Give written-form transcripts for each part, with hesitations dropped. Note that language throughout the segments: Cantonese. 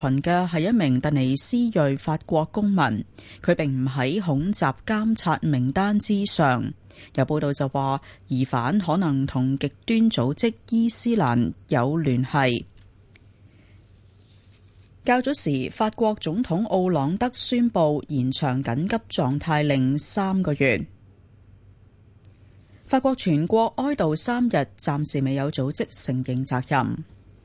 群嘅係一名突尼斯裔法國公民，佢並唔喺恐襲監察名單之上。有報道就話，疑犯可能同極端組織伊斯蘭有聯繫。較早時，法國總統奧朗德宣布延長緊急狀態令3個月。法國全國哀悼3日，暫時未有組織承認責任。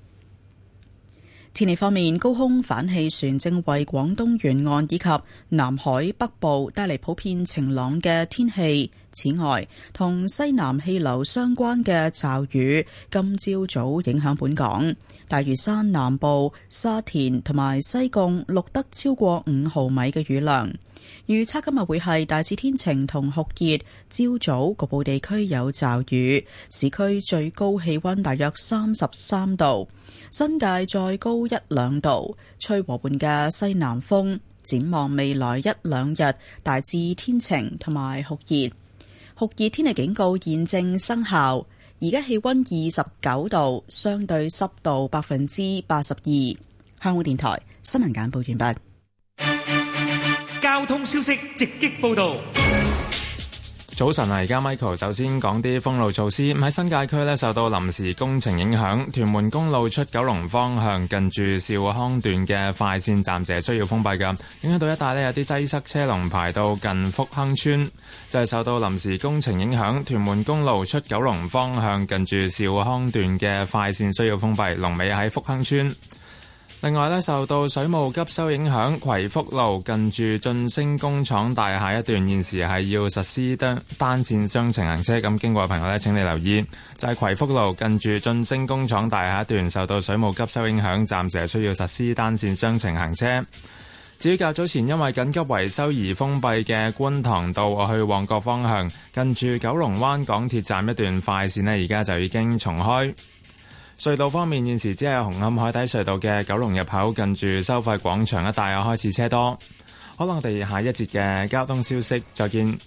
天氣方面，高空反氣旋正為廣東沿岸以及南海北部帶嚟普遍晴朗嘅天氣。此外，同西南氣流相關嘅驟雨今朝早影響本港，大嶼山南部、沙田同埋西貢錄得超過5毫米嘅雨量。預測今日會係大致天晴同酷熱，朝早局部地區有驟雨，市區最高氣溫大約33度，新界再高1-2度，吹和緩嘅西南風。展望未來1-2日，大致天晴同埋酷熱。酷熱天氣警告現正生效。而家氣溫29度，相對濕度82%。香港電台新聞簡報完畢。 交通消息直擊報道。 早晨啊，而家 Michael 首先講啲封路措施。喺新界區呢，受到臨時工程影響，屯門公路出九龍方向近住兆康段嘅快線暫時需要封閉㗎，影響到一帶呢有啲擠塞車龍排到近福亨村。就係受到臨時工程影響，屯門公路出九龍方向近住兆康段嘅快線需要封閉，龍尾喺福亨村。另外呢，受到水務急修影響，葵福路近住晉升工廠大廈一段現時係要實施單線雙程行車，咁經過嘅朋友呢，請你留意，就係葵福路近住晉升工廠大廈一段受到水務急修影響，暫時係需要實施單線雙程行車。至於較早前因為緊急維修而封閉嘅觀塘道去旺角方向，近住九龍灣港鐵站一段快線呢，而家就已經重開。隧道方面，現時只係紅磡海底隧道嘅九龍入口近住收費廣場一帶開始車多。好啦，我哋下一節嘅交通消息再見。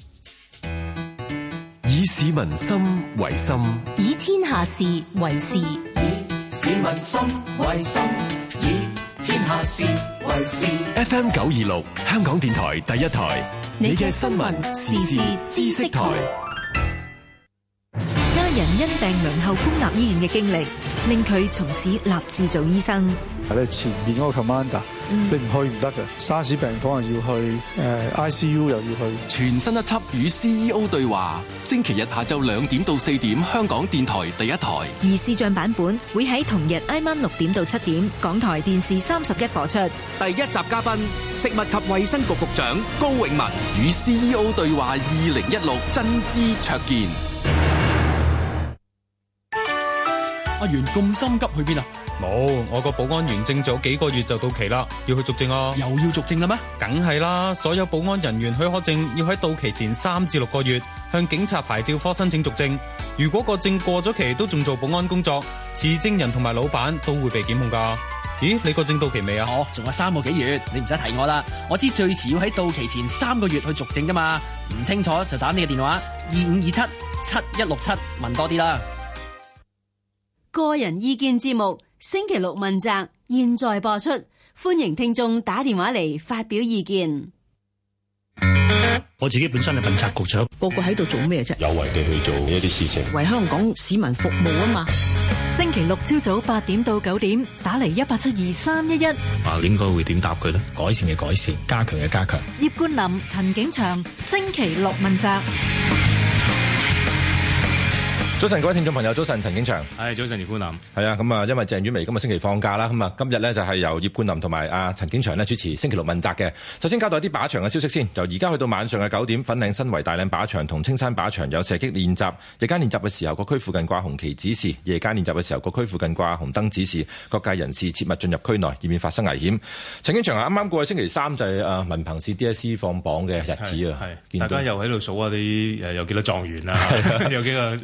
以市民心為心， 以天下事為事。以市民心為心，以天下事為事。 FM 926香港電台第一台，你嘅新聞時事知識台。 家人因病輪候公立醫院嘅經歷，令佢從此立志做醫生。 你前面嗰個 commander，你唔去唔得嘅。沙士病房又要去，ICU 又要去。 全新一輯與 CEO 對話，星期日下晝2點到4點，香港電台第一台。 而視像版本會喺同日挨晚6點到7點，港台電視31播出。 第一集嘉賓，食物及衛生局局長高永文與 CEO 對話2016，真知灼見。 阿元咁心急去邊啊？冇，我個保安員證仲有幾個月就到期啦，要去續證啊！又要續證啦咩？梗係啦，所有保安人員許可證要喺到期前3至6個月向警察牌照科申請續證。如果個證過咗期都仲做保安工作，持證人同埋老闆都會被檢控噶。咦，你個證到期未啊？ 仲有3個幾月，你唔使提我啦。我知最遲要喺到期前3個月去續證噶嘛。唔清楚就打你嘅電話25277167問多啲啦。 個人意見節目星期六問責，現在播出，歡迎聽眾打電話嚟發表意見。 我自己本身係問責局長， 個個喺度做咩啫？ 有為地去做一啲事情， 為香港市民服務啊嘛。 星期六朝早8點到9點，打嚟1872311。 應該會點答佢呢？改善嘅改善，加強嘅加強。 葉冠霖、陳景祥，星期六問責。 早晨，各位聽眾朋友，早晨，陳景祥。 早晨，葉冠霖。 係啊，咁啊，因為鄭婉薇今日星期放假啦，咁啊，今日咧就係由葉冠霖同埋阿陳景祥咧主持星期六問責嘅。首先交代啲靶場嘅消息先，由而家去到晚上嘅9點，粉嶺新圍大嶺靶場同青山靶場有射擊練習。日間練習嘅時候，各區附近掛紅旗指示；夜間練習嘅時候，各區附近掛紅燈指示。各界人士切勿進入區內，以免發生危險。陳景祥啊，啱啱過去星期3就係文憑試 DSE 放榜嘅日子啊， 大家又喺度數下啲有幾多狀元啊，有幾個少咗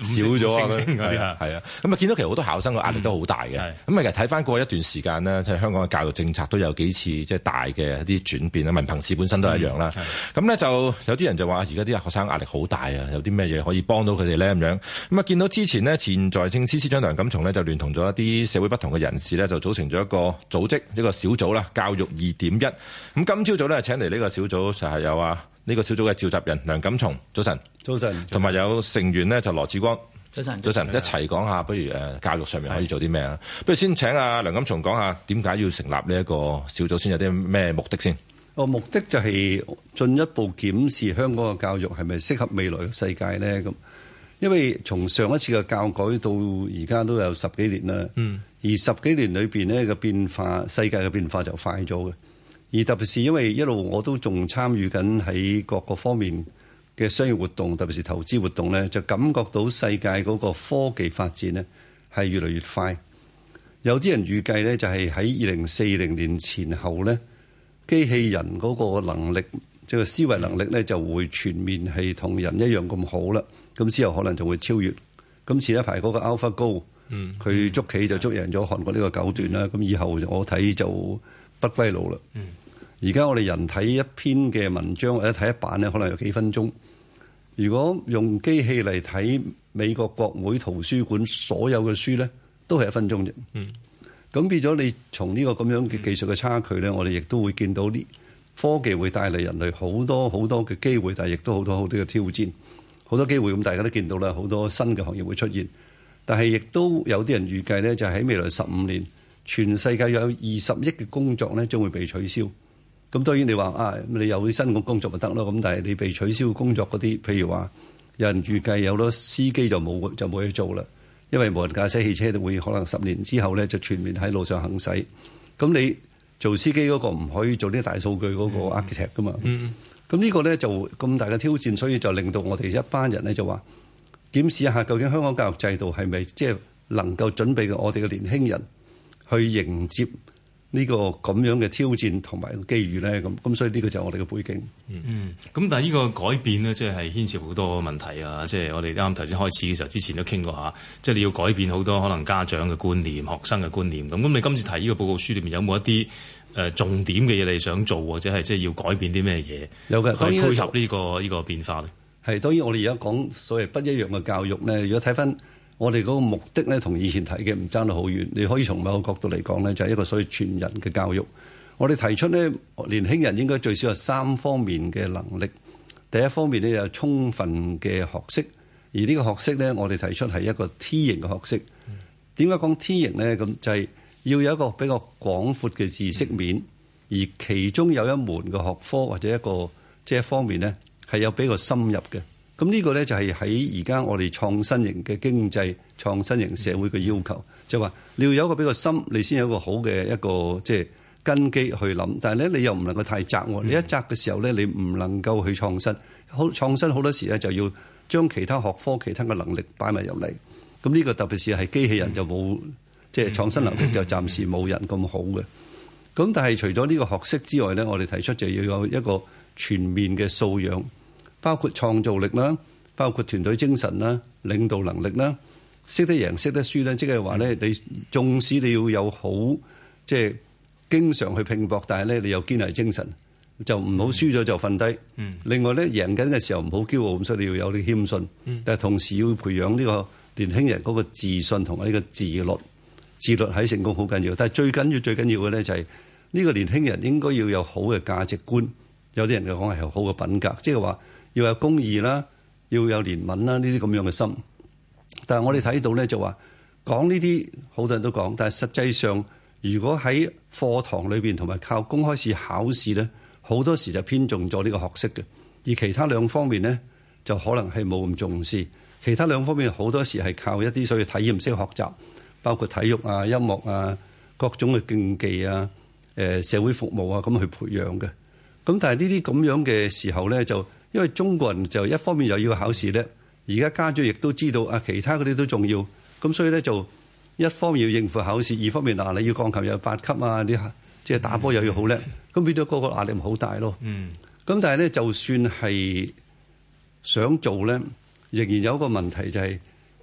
咗啊！ 星嗰啲係啊，咁啊見到其實好多考生嘅壓力都好大嘅。咁啊其實睇翻過一段時間呢，即係香港嘅教育政策都有幾次即係大嘅一啲轉變啦。文憑試本身都係一樣啦。咁咧就有啲人就話而家啲學生壓力好大啊，有啲咩嘢可以幫到佢哋咧咁樣。咁啊見到之前呢，前財政司司長梁錦松呢，就聯同咗一啲社會不同嘅人士咧，就組成咗一個組織，一個小組啦，教育2.1。咁今朝早咧請嚟呢個小組就係有呢個小組嘅召集人梁錦松，早晨。 早晨。同埋有成員呢，就羅致光， 早晨。 一齊講下，不如教育上面可以做啲咩啊？不如先請阿梁錦松講下點解要成立呢一個小組，先有啲咩目的先？ 目的就係進一步檢視香港嘅教育係咪適合未來嘅世界咧？咁因為從上一次嘅教改到而家都有10幾年啦，而10幾年裏邊呢個變化，世界嘅變化就快咗嘅。而特別是因為一路我都仲參與緊喺各個方面嘅商業活動，特別是投資活動咧，就感覺到世界嗰個科技發展咧係越嚟越快。有啲人預計咧就係喺2040年前後咧，機器人嗰個能力，即係思維能力咧就會全面係同人一樣咁好啦。咁之後可能就會超越。咁前一排嗰個 AlphaGo，佢捉棋就捉贏咗韓國呢個9段啦。咁以後我睇就不歸路啦。而家我哋人睇一篇嘅文章或者睇一版咧，可能有幾分鐘。如果用機器嚟睇美國國會圖書館所有嘅書咧，都係1分鐘啫。咁變咗你從呢個咁樣嘅技術嘅差距咧，我哋亦都會見到啲科技會帶嚟人類好多好多嘅機會，但係亦都好多好多嘅挑戰。好多機會咁大家都見到啦，好多新嘅行業會出現。但係亦都有啲人預計咧，就係喺未來15年，全世界有20億嘅工作咧將會被取消。咁當然你話你有啲新嘅工作咪得咯。咁但係你被取消工作嗰啲，譬如話有人預計有好多司機就冇嘢做啦，因為無人駕駛汽車會可能10年之後咧就全面喺路上行駛。咁你做司機嗰個唔可以做啲大數據嗰個 architect 噶嘛？咁呢個咧就咁大嘅挑戰，所以就令到我哋一班人咧就話檢視一下究竟香港教育制度係咪即係能夠準備我哋嘅年輕人去迎接呢個咁樣嘅挑戰同埋個機遇咧？咁所以呢個就係我哋嘅背景。 咁但係呢個改變咧，即係牽涉好多問題啊！即係我哋啱頭先開始嘅時候，之前都傾過下，即係你要改變好多可能家長嘅觀念、學生嘅觀念。咁你今次提呢個報告書裏面有冇一啲重點嘅嘢你想做，或者係即係要改變啲咩嘢？有嘅，去配合呢個變化咧。係當然，我哋而家講所謂不一樣嘅教育咧，如果睇翻我哋嗰個目的咧，同以前提嘅唔爭得好遠。你可以從某個角度嚟講咧，就係一個所謂全人嘅教育。我哋提出咧，年輕人應該最少有3方面嘅能力。第一方面咧，有充分嘅學識，而呢個學識咧，我哋提出係一個 T 型嘅學識。點解講 T 型咧？咁就係要有一個比較廣闊嘅知識面，而其中有一門嘅學科或者一個即係一方面咧，係有比較深入嘅。咁呢個咧就係喺而家我哋創新型嘅經濟、創新型社會嘅要求，就係話你要有一個比較深，你先有一個好嘅一個即係根基去諗。但係咧，你又唔能夠太窄。你一窄嘅時候咧，你唔能夠去創新。創新好多時咧，就要將其他學科、其他嘅能力擺埋入嚟。咁呢個特別是係機器人就冇，即係創新能力就暫時冇人咁好嘅。咁但係除咗呢個學識之外咧，我哋提出就要有一個全面嘅素養。包括創造力啦，包括團隊精神啦、領導能力啦，識得贏、識得輸咧，即係話咧，你縱使你要有好即係經常去拼搏，但係咧你有堅毅精神，就唔好輸咗就瞓低。另外咧，贏緊嘅時候唔好驕傲，咁所以你要有啲謙遜。但係同時要培養呢個年輕人嗰個自信同埋呢個自律。自律喺成功好緊要，但係最緊要嘅咧就係呢個年輕人應該要有好嘅價值觀。有啲人嘅講係好嘅品格，即係話。要有公義啦，要有憐憫啦，呢啲咁樣嘅心。但係我哋睇到咧，就話講呢啲好多人都講，但係實際上，如果喺課堂裏邊同埋靠公開試考試咧，好多時就偏重咗呢個學識嘅，而其他兩方面咧就可能係冇咁重視。其他兩方面好多時係靠一啲所謂體驗式學習，包括體育啊、音樂啊、各種嘅競技啊、社會服務啊咁去培養嘅。咁但係呢啲咁樣嘅時候咧就。因為中國人就一方面又要考試咧，而家家長亦都知道其他嗰啲都重要，咁所以咧就一方面要應付考試，二方面你要鋼琴有8級啊，啲即係打波又要好叻，咁變咗個壓力咪好大咯。咁但係咧，就算係想做咧，仍然有一個問題就係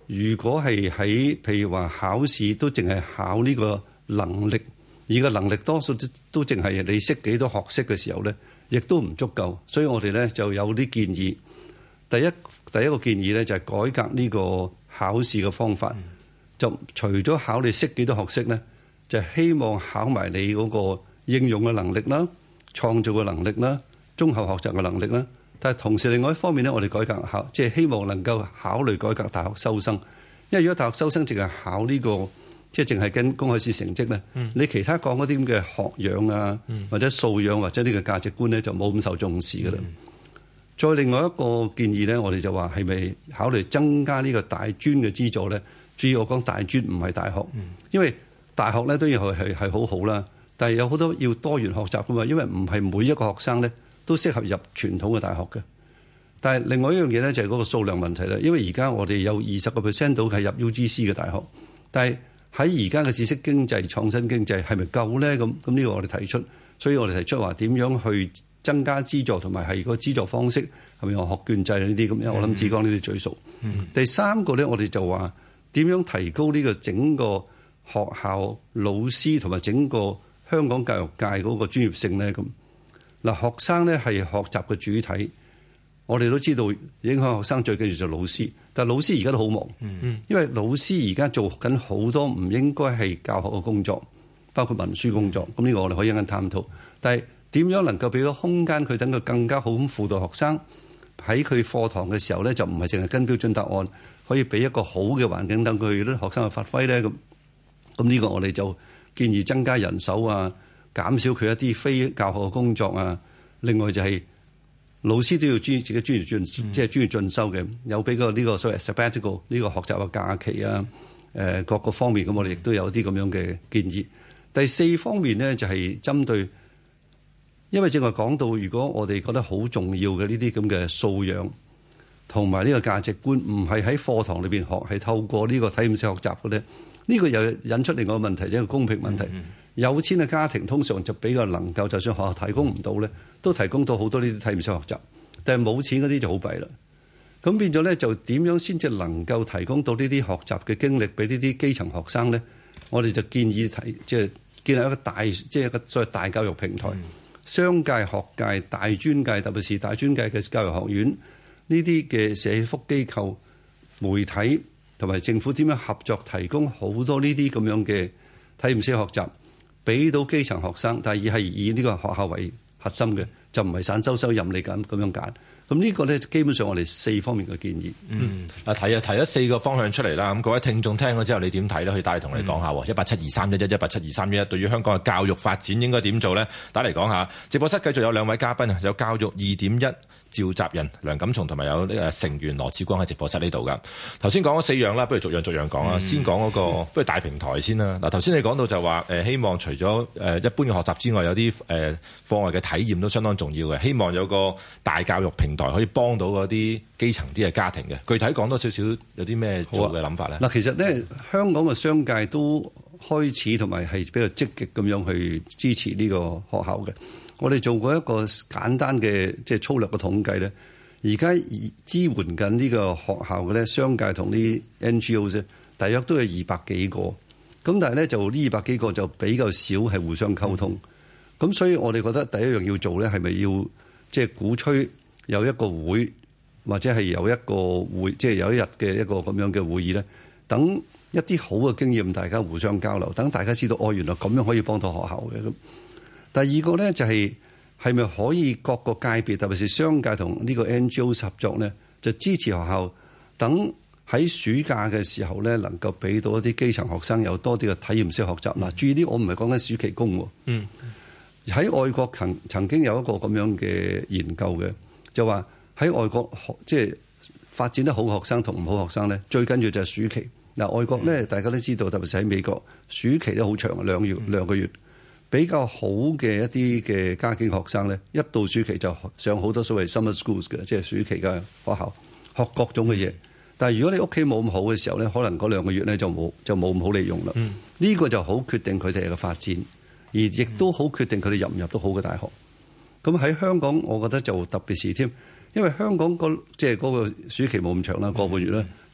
如果係喺譬如話考試都淨係考呢個能力，而個能力多數都淨係你識幾多學識嘅時候咧，亦都唔足夠。所以我哋咧就有啲建議。第一個建議咧就係改革呢個考試嘅方法，就除咗考你識幾多學識咧，就希望考埋你嗰個應用嘅能力啦、創造嘅能力啦、綜合學習嘅能力啦。但係同時另外一方面咧，我哋改革考，即係希望能夠考慮改革大學收生。因為如果大學收生淨係考呢個，即係淨係跟公開試成績咧，你其他講嗰啲咁嘅學養啊，或者素養或者呢個價值觀咧，就冇咁受重視㗎啦。再另外一個建議咧，我哋就話係咪考慮增加呢個大專嘅資助咧？注意我講大專唔係大學，因為大學咧當然係好好啦，但係有好多要多元學習㗎嘛，因為唔係每一個學生咧都適合入傳統嘅大學嘅。但係另外一樣嘢咧就係嗰個數量問題啦，因為而家我哋有20% 到係入 UGC 嘅大學，但係喺而家嘅知識經濟、創新經濟係咪夠咧？咁呢個我哋提出，所以我哋提出話點樣去增加資助，同埋係個資助方式係咪用學券制呢啲咁樣？我諗志剛呢啲最熟。第三個咧，我哋就話點樣提高呢個整個學校老師同埋整個香港教育界嗰個專業性咧？咁嗱，學生咧係學習嘅主體，我哋都知道影響學生最緊要就係老師，但係老師而家都好忙，因為老師而家做緊好多唔應該係教學嘅工作，包括文書工作。咁呢個我哋可以一陣探討，但係點樣能夠俾個空間佢，等佢更加好咁輔導學生喺佢課堂嘅時候咧，就唔係淨係跟標準答案，可以俾一個好嘅環境等佢啲學生去發揮咧。咁呢個我哋就建議增加人手啊，減少佢一啲非教學嘅工作啊。另外就係老師都要自己專業進修嘅，有俾個呢個所謂 sabbatical 呢個學習嘅假期啊，各個方面咁，我哋亦都有啲咁樣嘅建議。第四方面呢，就係針對，因為正話講到，如果我哋覺得好重要嘅呢啲咁嘅素養同埋呢個價值觀，唔係喺課堂裏邊學，係透過呢個體驗式學習嘅咧，呢個又引出另外一個問題，即係一個公平問題。有錢嘅家庭通常就比較能夠，就算學校提供唔到咧，都提供到好多呢啲體驗式學習。但係冇錢嗰啲就好弊啦。咁變咗咧，就點樣先至能夠提供到呢啲學習嘅經歷俾呢啲基層學生咧？我哋就建議即係建立一個大，即係一個所謂大教育平台，商界、學界、大專界，特別是大專界嘅教育學院呢啲嘅社福機構、媒體同埋政府點樣合作，提供好多呢啲咁樣嘅體驗式學習。俾到基層學生，但係以呢個學校為核心嘅，就唔係散收任你咁樣揀。咁呢個咧，基本上我哋4方面嘅建議。 提咗4個方向出嚟啦。咁各位聽眾聽咗之後，你點睇咧？可以打嚟同你講下。1872311 1872311，對於香港嘅教育發展應該點做咧？打嚟講下。直播室繼續有2位嘉賓啊，有教育2.1召集人梁錦松同埋有呢個成員羅致光喺直播室呢度噶。頭先講咗4樣啦，不如逐樣講啊。先講嗰個，不如大平台先啦。嗱，頭先你講到就話希望除咗一般嘅學習之外，有啲課外嘅體驗都相當重要嘅。希望有個大教育平台可以幫到嗰啲基層啲嘅家庭嘅。具體講多少少有啲咩做嘅諗法咧？ 嗱，其實咧香港嘅商界都開始同埋係比較積極咁樣去支持呢個學校嘅。我哋做過一個簡單嘅即係粗略嘅統計咧，而家支援緊呢個學校嘅咧，商界同啲 NGO 啫，大約都有200幾個。咁但係咧就呢200幾個就比較少係互相溝通。咁所以我哋覺得第一樣要做咧，係咪要即係鼓吹有一個會，或者係有一個會，即係有一日嘅一個咁樣嘅會議咧，等一啲好嘅經驗大家互相交流，等大家知道原來咁樣可以幫到學校嘅。咁第二個咧就係咪可以各個界別，特別是商界同呢個 NGO 合作咧，就支持學校等喺暑假嘅時候咧，能夠俾到一啲基層學生有多啲嘅體驗式學習。嗱，注意啲，我唔係講緊暑期工。喺外國曾經有一個咁樣嘅研究嘅，就話喺外國即係發展得好嘅學生同唔好學生咧，最緊要就係暑期。嗱，外國咧大家都知道，特別是喺美國，暑期都好長，2個月。比較好嘅一啲嘅家境學生咧，一到暑期就上好多所謂 summer schools 嘅，即係暑期嘅學校，學各種嘅嘢。但係如果你屋企冇咁好嘅時候咧，可能嗰2個月咧就冇咁好利用啦。呢個就好決定佢哋嘅發展，而亦都好決定佢哋入唔入到好嘅大學。咁喺香港，我覺得就特別是添，因為香港即係嗰個暑期冇咁長啦，個半月咧，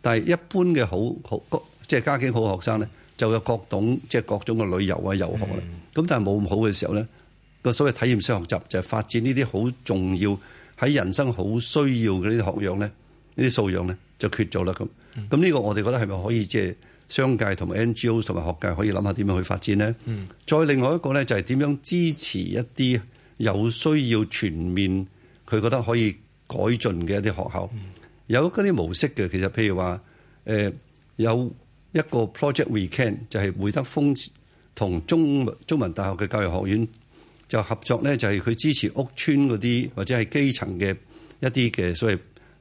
但係一般嘅好即係家境好嘅學生咧，就有各種嘅旅遊啊、遊學啦。咁但係冇咁好嘅時候咧，個所謂體驗式學習就係發展呢啲好重要喺人生好需要嘅呢啲學養咧，呢啲素養咧就缺咗啦。咁呢個我哋覺得係咪可以即係商界同埋 NGO 同埋學界可以諗下點樣去發展咧？再另外一個咧就係點樣支持一啲有需要全面佢覺得可以改進嘅一啲學校，有嗰啲模式嘅。其實譬如話有一個 Project Weekend 就係會德豐同中文大學嘅教育學院就合作咧，就係佢支持屋邨嗰啲或者係基層嘅一啲嘅所謂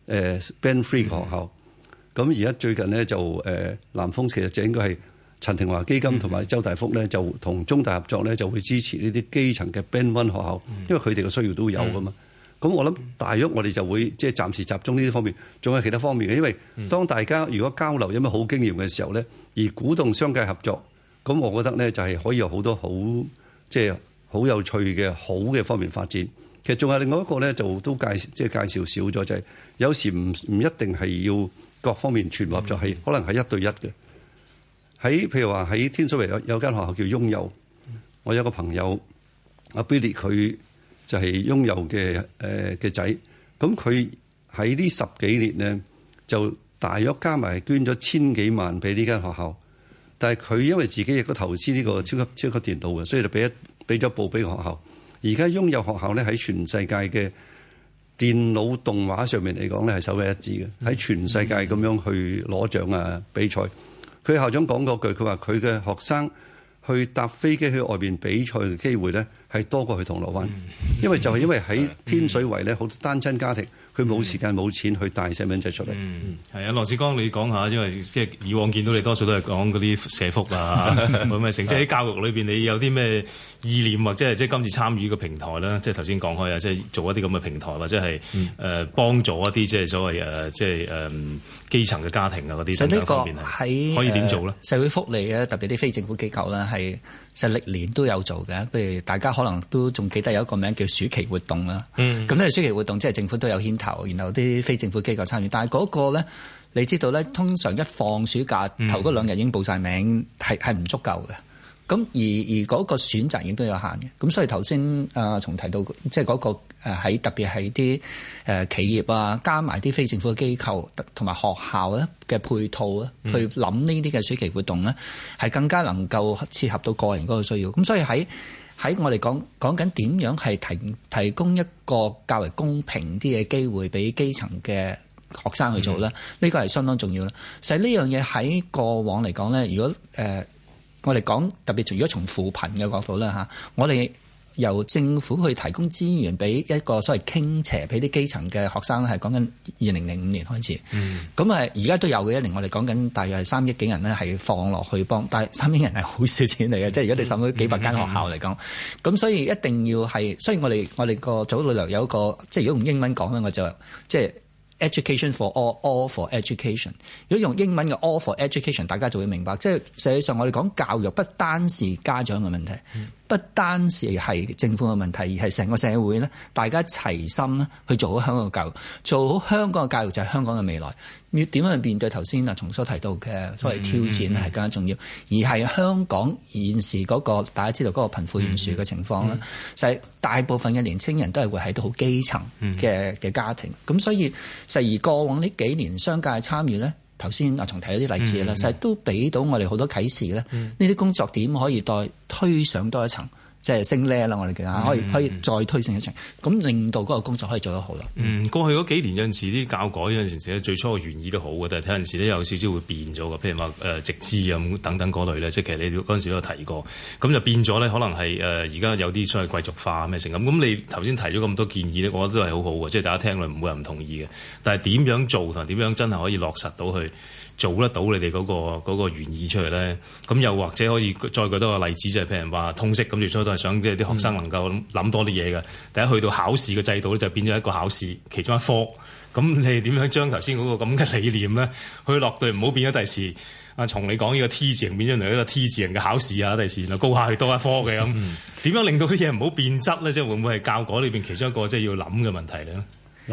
band free 嘅學校。咁而家最近咧就南豐其實就應該係陳廷華基金同埋周大福咧就同中大合作咧，就會支持呢啲基層嘅 band one 學校，因為佢哋嘅需要都有噶嘛。咁我諗大約我哋就會即係暫時集中呢啲方面，仲有其他方面嘅。因為當大家如果交流有咩好經驗嘅時候咧，而鼓動商界合作，咁我覺得咧就係可以有好多好即係好有趣嘅好嘅方面發展。其實仲有另外一個咧，就都介紹少咗，就係有時唔一定係要各方面全合作，係可能係一對一嘅。譬如話喺天水圍有間學校叫雍幼，我有個朋友阿 Billy 佢就係雍幼嘅仔，咁佢喺呢10幾年咧就大約加埋捐咗1000幾萬俾呢間學校，但係佢因為自己亦都投資呢個超級電腦嘅，所以就俾咗部俾學校。而家雍幼學校咧喺全世界嘅電腦動畫上面嚟講咧係首屈一指嘅，喺全世界咁樣去攞獎啊比賽。佢校長講過句，佢話佢嘅學生去搭飛機去外邊比賽嘅機會咧係多過去銅鑼灣，因為喺天水圍咧好多單親家庭，佢冇時間冇錢去帶細蚊仔出嚟。 係啊，羅致光你講下，因為即係以往見到你多數都係講嗰啲社福啊，冇咩成，即係喺教育裏邊你有啲咩意念或者係即係今次參與個平台啦，即係頭先講開啊，即係做一啲咁嘅平台或者係幫助一啲即係所謂即係基層嘅家庭啊嗰啲等等方面係可以點做咧？ 社會福利咧，特別啲非政府機構咧，係實歷年都有做嘅。譬如大家可能都仲記得有一個名叫暑期活動啦。咁呢個暑期活動即係政府都有牽頭，然後啲非政府機構參與。但係嗰個咧，你知道咧，通常一放暑假頭嗰2日已經報晒名，係唔足夠嘅。咁而嗰個選擇亦都有限嘅。咁所以頭先從提到即係嗰個喺特別係啲企業啊，加埋啲非政府嘅機構同埋學校咧嘅配套咧，去諗呢啲嘅暑期活動咧，係更加能夠切合到個人嗰個需要。咁所以喺我哋講緊點樣係提供一個較為公平啲嘅機會俾基層嘅學生去做咧，呢個係相當重要啦。實際呢樣嘢喺過往嚟講咧，如果我哋講特別，如果從扶貧嘅角度咧嚇，我哋由政府去提供資源俾一個所謂傾斜俾啲基層嘅學生咧，係講緊2005年開始。咁而家都有嘅，一年我哋講緊大約係3億幾人咧係放落去幫，但係3億人係好少錢嚟嘅，即係如果你甚至幾百間學校嚟講，咁所以一定要係，所以我哋個組裏頭有一個，即係如果用英文講咧，我就即係Education for all for education。如果用英文嘅 all for education， 大家就會明白，即係實際上我哋講教育不單是家長嘅問題，不單是係政府嘅問題，而係成個社會咧，大家齊心咧去做好香港嘅教育，做好香港嘅教育就係香港嘅未來。要點樣去面對頭先從所提到嘅所謂挑戰係更加重要，而係香港現時嗰個大家知道嗰個貧富懸殊嘅情況咧，就係大部分嘅年青人都係會喺到好基層嘅家庭，咁所以而過往呢幾年商界參與咧，頭先阿松提咗啲例子啦，實都俾到我哋好多啟示咧，呢啲工作點可以再推上多一層。即係升 level 啦，我哋叫可以再推升一層，咁令到嗰個工作可以做得好啦。 過去嗰幾年有陣時啲教改有陣時最初嘅原意都好嘅，但係睇陣時咧有少少會變咗嘅，譬如話直資啊等等嗰類咧，即係其實你嗰陣時都有提過，咁就變咗咧，可能係而家有啲所謂貴族化咩成咁。咁你頭先提咗咁多建議咧，我覺得都係好好嘅，即係大家聽落唔會有人唔同意嘅。但係點樣做同點樣真係可以落實到去做得到你哋嗰個原意出嚟咧？咁又或者可以再舉多個例子，就係譬如話通識咁，最初都係想即係啲學生能夠諗多啲嘢嘅。第一去到考試嘅制度咧，就變咗一個考試其中一科。咁你點樣將頭先嗰個咁嘅理念咧，去落對，唔好變咗第時阿松你講呢個 T 字形變咗嚟一個 T 字形嘅考試啊！第時就高下去多一科嘅咁，點樣令到啲嘢唔好變質咧？即係會唔會係教改裏邊其中一個即係要諗嘅問題咧？ 嗱，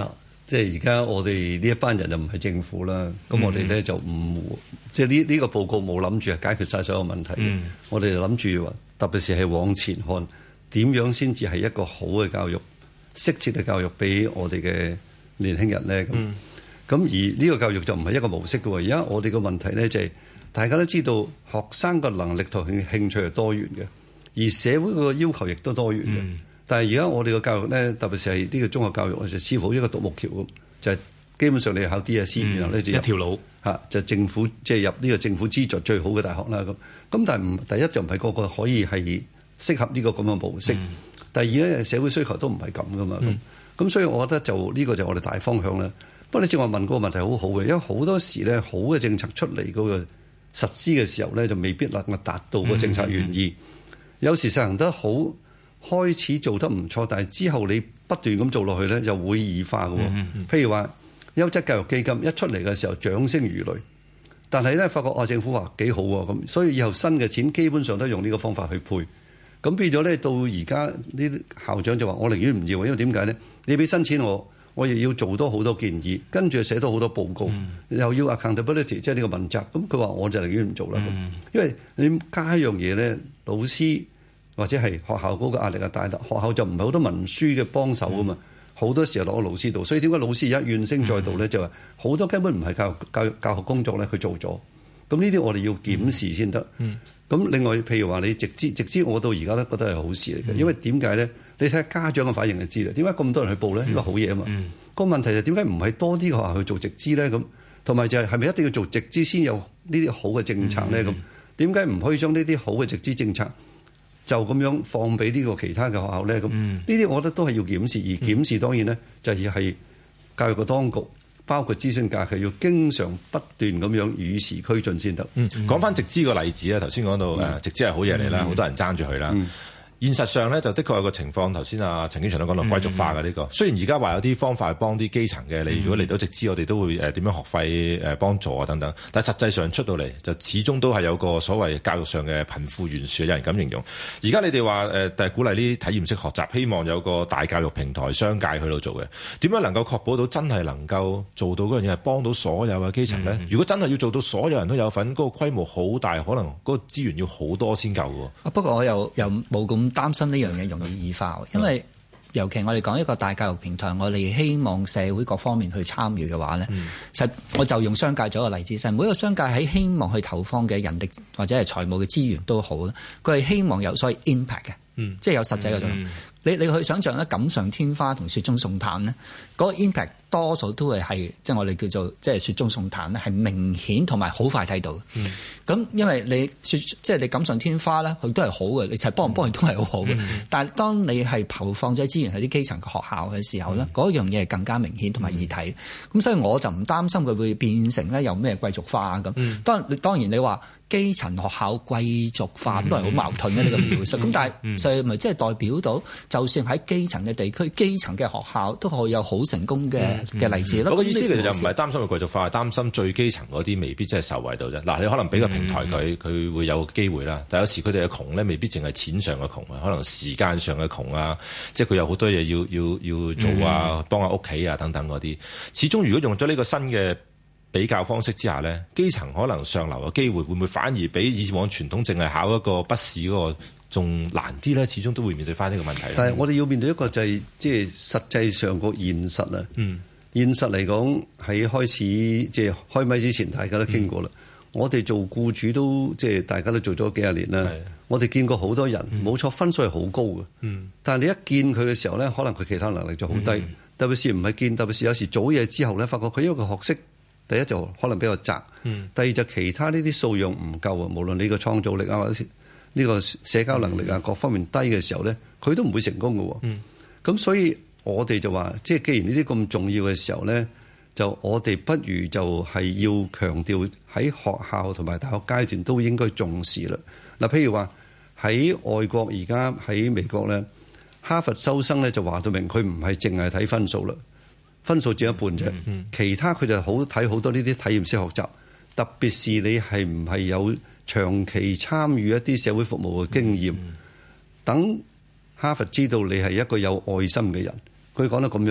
即係而家我哋呢一班人就唔係政府啦，咁我哋咧就唔即係呢個報告冇諗住係解決晒所有問題。我哋就諗住話，特別是係往前看，點樣先至係一個好嘅教育、適切嘅教育俾我哋嘅年輕人咧。咁而呢個教育就唔係一個模式嘅喎。而家我哋嘅問題咧就係、大家都知道學生嘅能力同興趣係多元嘅，而社會個要求亦都多元嘅。但係而家我哋嘅教育咧，特別是係呢個中學教育，就似乎一個獨木橋咁，就係、基本上你考 DSE，然後咧就一條路嚇，就政府即係入呢個政府資助最好嘅大學啦。咁但係第一就唔係個個可以係適合呢個咁嘅模式。第二咧，社會需求都唔係咁噶嘛。咁所以我覺得就呢個就我哋大方向啦。不過你正話問嗰個問題好好嘅，因為好多時咧好嘅政策出嚟嗰個實施嘅時候咧，就未必能夠達到個政策原意。有時實行得好，開始做得唔錯，但係之後你不斷咁做落去咧，又會異化嘅。譬如話優質教育基金一出嚟嘅時候，掌聲如雷，但係咧發覺政府話幾好喎，咁所以以後新嘅錢基本上都用呢個方法去配。咁變咗咧，到而家呢啲校長就話：我寧願唔要，因為點解咧？你俾新錢我亦要做多好多建議，跟住寫多好多報告，又要 accountability， 即係呢個問責。咁佢話我就寧願唔做啦。因為你加一樣嘢咧，老師或者係學校嗰個壓力啊大，學校就唔係好多文書嘅幫手啊嘛，好多時候落個老師度。所以點解老師而家怨聲載道咧？就話好多根本唔係教學工作咧，佢做咗。咁呢啲我哋要檢視先得。咁另外，譬如話你直資，我到而家都覺得係好事嚟嘅，因為點解咧？你睇下家長嘅反應就知啦。點解咁多人去報咧？呢個好嘢啊嘛。個問題就點解唔係多啲學校去做直資咧？咁同埋就係咪一定要做直資先有呢啲好嘅政策咧？咁點解唔可以將呢啲好嘅直資政策就咁樣放俾呢個其他嘅學校咧？咁呢啲我覺得都係要檢視，而檢視當然咧就係教育嘅當局。包括諮詢假期要經常不斷咁樣與時俱進先得。 講翻直資個例子啊，頭先講到直資係好嘢嚟啦，好多人爭住佢啦。現實上咧，就的確有個情況，頭先陳景祥都講到貴族化嘅呢個。雖然而家話有啲方法係幫啲基層嘅，你如果嚟到直資，我哋都會點樣學費幫助啊等等。但係實際上出到嚟，就始終都係有個所謂教育上嘅貧富懸殊，有人咁形容。而家你哋話係鼓勵呢啲體驗式學習，希望有個大教育平台、商界去到做嘅。點樣能夠確保到真係能夠做到嗰樣嘢係幫到所有嘅基層咧？如果真係要做到所有人都有份，嗰個規模好大，可能嗰個資源要好多先夠喎。 不過我又冇咁擔心呢樣嘢容易異化，因為尤其我哋講一個大教育平台，我哋希望社會各方面去參與嘅話咧，實我就用商界做一個例子，每一個商界喺希望去投放嘅人力或者係財務嘅資源都好啦，佢係希望有所謂 impact 嘅，即係有實際嘅作用。你去想象咧，錦上添花同雪中送炭咧，嗰個 impact 多數都係即係我哋叫做即係雪中送炭咧，係明顯同埋好快睇到。咁因為你即係你錦上添花咧，佢都係好嘅，你實幫唔幫佢都係好好嘅。但係當你係投放咗資源喺啲基層嘅學校嘅時候咧，嗰樣嘢係更加明顯同埋易睇。咁所以我就唔擔心佢會變成咧有咩貴族化咁。當然你話基層學校貴族化都係好矛盾嘅呢個描述。咁但係就咪即係代表到，就算喺基層嘅地區、基層嘅學校都可以有好成功嘅例子咯。 我嘅意思其實就唔係擔心佢貴族化，係擔心最基層嗰啲未必真係受惠到啫。嗱，你可能俾個平台佢會有機會啦。但有時佢哋嘅窮咧，未必淨係錢上嘅窮啊，可能時間上嘅窮啊，即係佢有好多嘢要做啊，幫下屋企啊等等嗰啲。始終如果用咗呢個新嘅比較方式之下咧，基層可能上流嘅機會會唔會反而比以往傳統淨係考一個筆試嗰個仲難啲咧？始終都會面對翻呢個問題。 但係我哋要面對一個就係即係實際上個現實啊。現實嚟講，喺開始即係開咪之前，大家都傾過啦。我哋做僱主都即係大家都做咗幾廿年啦。我哋見過好多人，冇錯，分數係好高嘅。但係你一見佢嘅時候咧，可能佢其他能力就好低。特別是唔係見，特別是有時做嘢之後咧，發覺佢因為個學識。第一就可能比較窄，第二就其他呢啲素養唔夠啊，無論你個創造力啊或者呢個社交能力啊各方面低嘅時候咧，佢都唔會成功嘅。咁所以我哋就話，即係既然呢啲咁重要嘅時候咧，就我哋不如就係要強調喺學校同埋大學階段都應該重視啦。嗱，譬如話喺外國而家喺美國咧，哈佛收生咧就話到明，佢唔係淨係睇分數啦。分數佔一半啫，其他佢就好睇好多呢啲體驗式學習，特別是你係唔係有長期參與一啲社會服務嘅經驗，等哈佛知道你係一個有愛心嘅人。佢講得咁樣，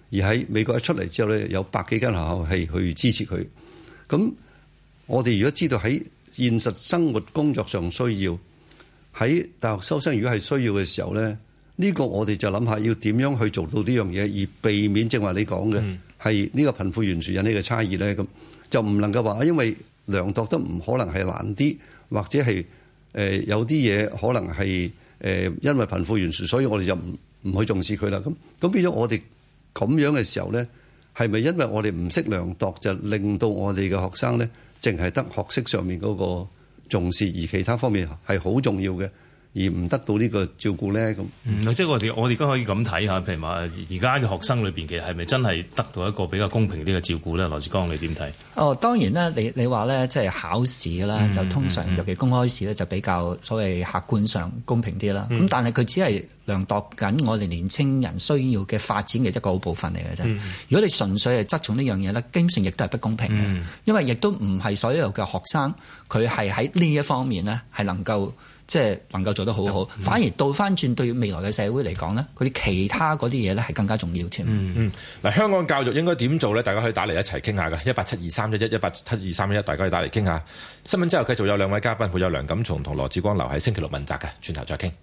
而喺美國一出嚟之後咧，有100幾間學校係去支持佢。咁我哋如果知道喺現實生活工作上需要，喺大學收生如果係需要嘅時候咧，呢個我哋就諗下要點樣去做到呢樣嘢，而避免正話你講嘅係呢個貧富懸殊引起嘅差異咧。咁就唔能夠話因為量度得唔可能係難啲，或者係有啲嘢可能係因為貧富懸殊，所以我哋就唔去重視佢啦。咁變咗我哋咁樣嘅時候咧，係咪因為我哋唔識量度，就令到我哋嘅學生咧，淨係得學識上面嗰個重視，而其他方面係好重要嘅，而唔得到呢個照顧咧？咁即係我哋而家可以咁睇下，譬如話而家嘅學生裏邊，其實係咪真係得到一個比較公平啲嘅照顧咧？羅致光，你點睇？ 當然啦，你話咧，即係考試啦，就通常尤其公開試咧，就比較所謂客觀上公平啲啦。咁但係佢只係量度緊我哋年青人需要嘅發展嘅一個好部分嚟嘅啫。如果你純粹係側重呢樣嘢咧，基本上亦都係不公平嘅，因為亦都唔係所有嘅學生佢係喺呢一方面咧係能夠做得好好，反而倒翻轉對未來嘅社會嚟講咧，佢哋其他嗰啲嘢咧係更加重要添。 嗱，香港教育應該點做咧？大家可以打嚟一齊傾下嘅，1872311，1872311，大家可以打嚟傾下。新聞之後繼續有兩位嘉賓，會有梁錦松同羅致光留喺星期六問責嘅，轉頭再傾。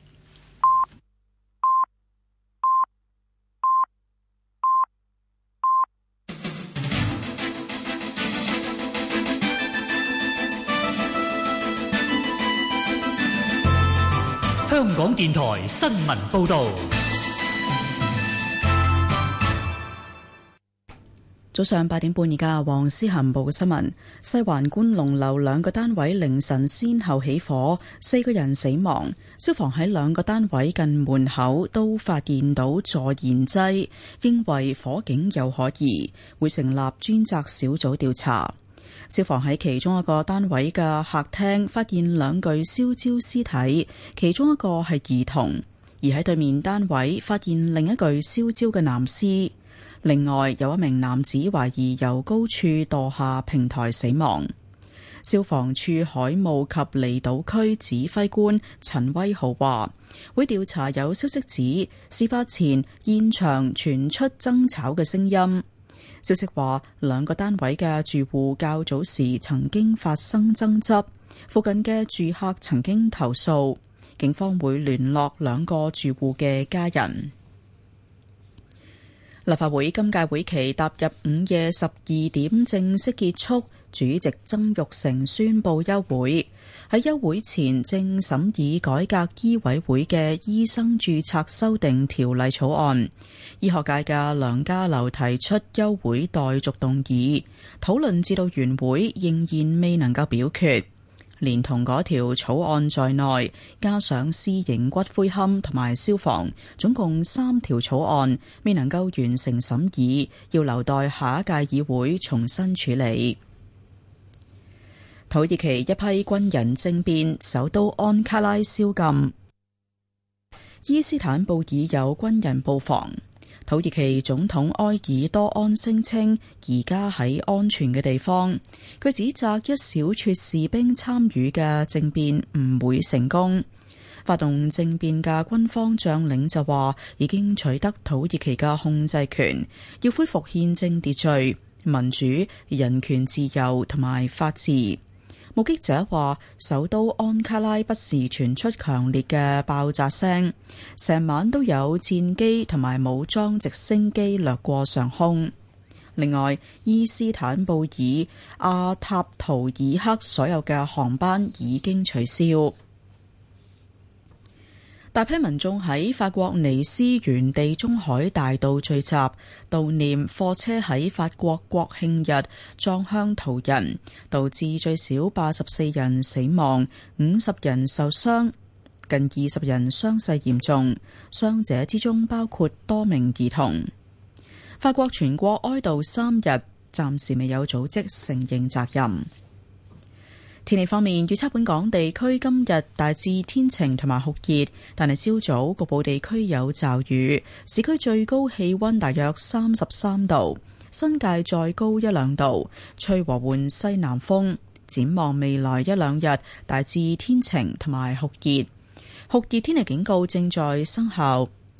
香港電台新聞報導。 早上8點半，而家黃思涵報嘅新聞：西環觀龍樓2個單位凌晨先後起火，4個人死亡。消防喺2個單位近門口都發現到助燃劑，認為火警有可疑，會成立專責小組調查。消防喺其中一個單位嘅客廳發現2具燒焦屍體，其中一個係兒童；而喺對面單位發現另一具燒焦嘅男屍。另外有一名男子懷疑由高處墮下平台死亡。消防處海務及離島區指揮官陳威豪話，會調查有消息指事發前現場傳出爭吵嘅聲音。消息話2個單位嘅住戶較早時曾經發生爭執，附近嘅住客曾經投訴，警方會聯絡2個住戶嘅家人。立法會今屆會期踏入午夜12點正式結束，主席曾鈺成宣布休會。喺休會前正審議改革醫委會嘅醫生註冊修訂條例草案，醫學界嘅梁家騮提出休會待續動議，討論至到完會仍然未能夠表決。連同嗰條草案在內，加上私營骨灰龕同埋消防，總共3條草案未能夠完成審議，要留待下一屆議會重新處理。土耳其一批軍人政變，首都安卡拉宵禁。伊斯坦布爾有軍人布防。土耳其總統埃爾多安聲稱而家喺安全嘅地方，佢指責一小撮士兵參與嘅政變唔會成功。發動政變嘅軍方將領就話已經取得土耳其嘅控制權，要恢復憲政秩序、民主、人權自由同埋法治。目擊者話，首都安卡拉不時傳出強烈嘅爆炸聲，成晚都有戰機同埋武裝直升機掠過上空。另外，伊斯坦布爾、阿塔圖爾克所有嘅航班已經取消。大批民眾喺法國尼斯原地中海大道聚集，悼念貨車喺法國國慶日撞向途人，導致最少84人死亡，50人受傷，近20人傷勢嚴重，傷者之中包括多名兒童。法國全國哀悼3日，暫時未有組織承認責任。天氣方面，預測本港地區今日大致天晴同埋酷熱，但係朝早局部地區有驟雨。市區最高氣溫大約33度，新界再高1-2度，吹和緩西南風。展望未來1-2日，大致天晴同埋酷熱。酷熱天氣警告正在生效。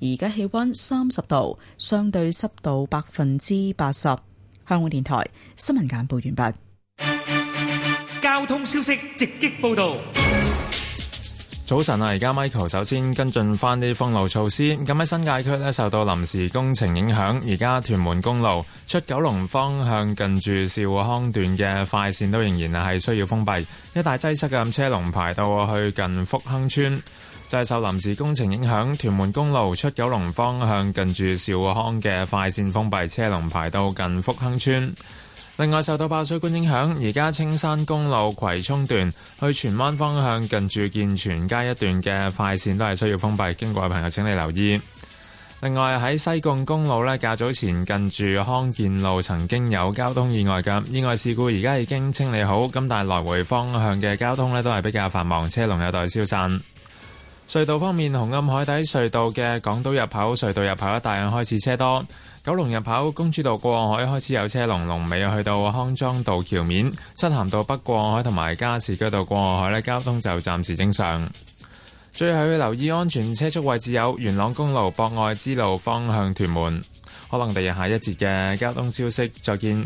而家氣溫30度，相對濕度80%。香港電台新聞簡報完畢。 交通消息直擊報道。 早晨啊，而家 Michael 首先跟進翻啲封路措施。咁喺新界區呢，受到臨時工程影響，而家屯門公路出九龍方向近住兆康段嘅快線都仍然係需要封閉，一帶擠塞嘅車龍排到去近福亨村。就係受臨時工程影響，屯門公路出九龍方向近住兆康嘅快線封閉，車龍排到近福亨村。另外受到爆水管影響，而家青山公路葵涌段去荃灣方向近住健全街一段嘅快線都係需要封閉，經過嘅朋友請你留意。另外喺西貢公路呢，較早前近住康健路曾經有交通意外嘅意外事故，而家已經清理好，咁但係來回方向嘅交通呢都係比較繁忙，車龍有待消散。隧道方面，紅磡海底隧道嘅港島入口隧道入口一帶開始車多。九龍入口公主道過海開始有車龍，龍尾去到康莊道橋面。漆咸道北過海同埋加士居道過海交通就暫時正常。最後要留意安全車速位置有元朗公路博愛之路方向屯門。可能第日下一節嘅交通消息再見。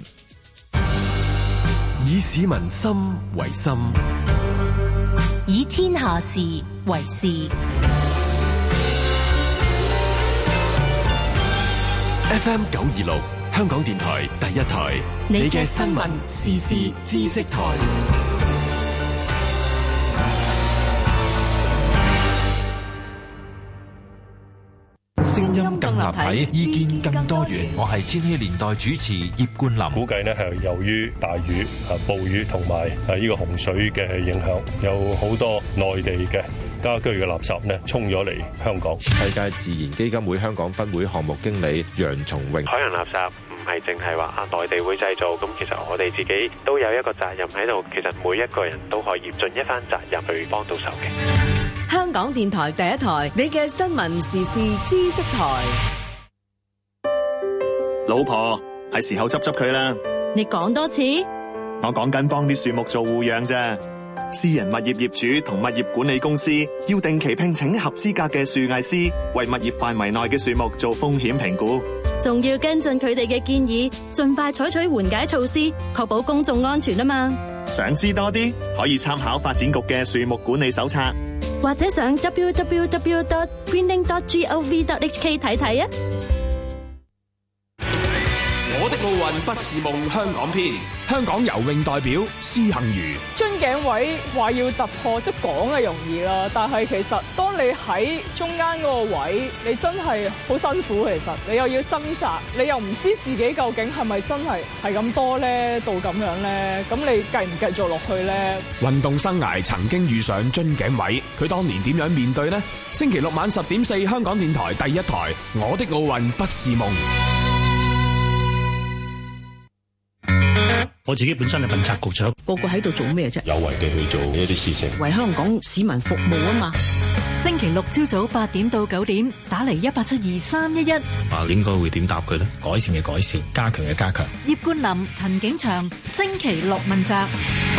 以市民心為心， 以天下事為事。 FM 926香港電台第一台，你嘅新聞時事知識台。 聲音更立體，意見更多元。我係千禧年代主持葉冠霖。 估計呢係由於大雨、暴雨同埋呢個洪水嘅影響，有好多內地嘅家居嘅垃圾呢沖咗嚟香港。 世界自然基金會香港分會項目經理楊松榮： 海洋垃圾唔係淨係話內地會製造，咁其實我哋自己都有一個責任喺度。其實每一個人都可以盡一番責任去幫到手嘅。 香港電台第一台，你嘅新聞時事知識台。 老婆，係時候執佢啦。 你講多次。 我講緊幫啲樹木做護養啫。私人物業業主同物業管理公司要定期聘請合資格嘅樹藝師，為物業範圍內嘅樹木做風險評估， 仲要跟進佢哋嘅建議，盡快採取緩解措施，確保公眾安全啊嘛。 想知多啲，可以參考發展局嘅樹木管理手冊， 或者上 www.greening.gov.hk 睇睇啊。 我的奧運不是夢香港篇，香港游泳代表施幸余。 樽頸位話要突破，即係講係容易啦，但係其實當你喺中間嗰個位，你真係好辛苦。其實你又要掙扎，你又唔知自己究竟係咪真係咁多咧，到咁樣咧，咁你繼唔繼續落去咧？ 運動生涯曾經遇上樽頸位，佢當年點樣面對呢？星期六晚10:4，香港電台第一台，我的奧運不是夢。 我自己本身係問責局長， 個個喺度做咩啫？ 有為地去做一啲事情， 為香港市民服務啊嘛。 星期六朝早8點到9點，打嚟1872311。 應該會點答佢呢？改善嘅改善，加強嘅加強。 葉冠霖、陳景祥，星期六問責。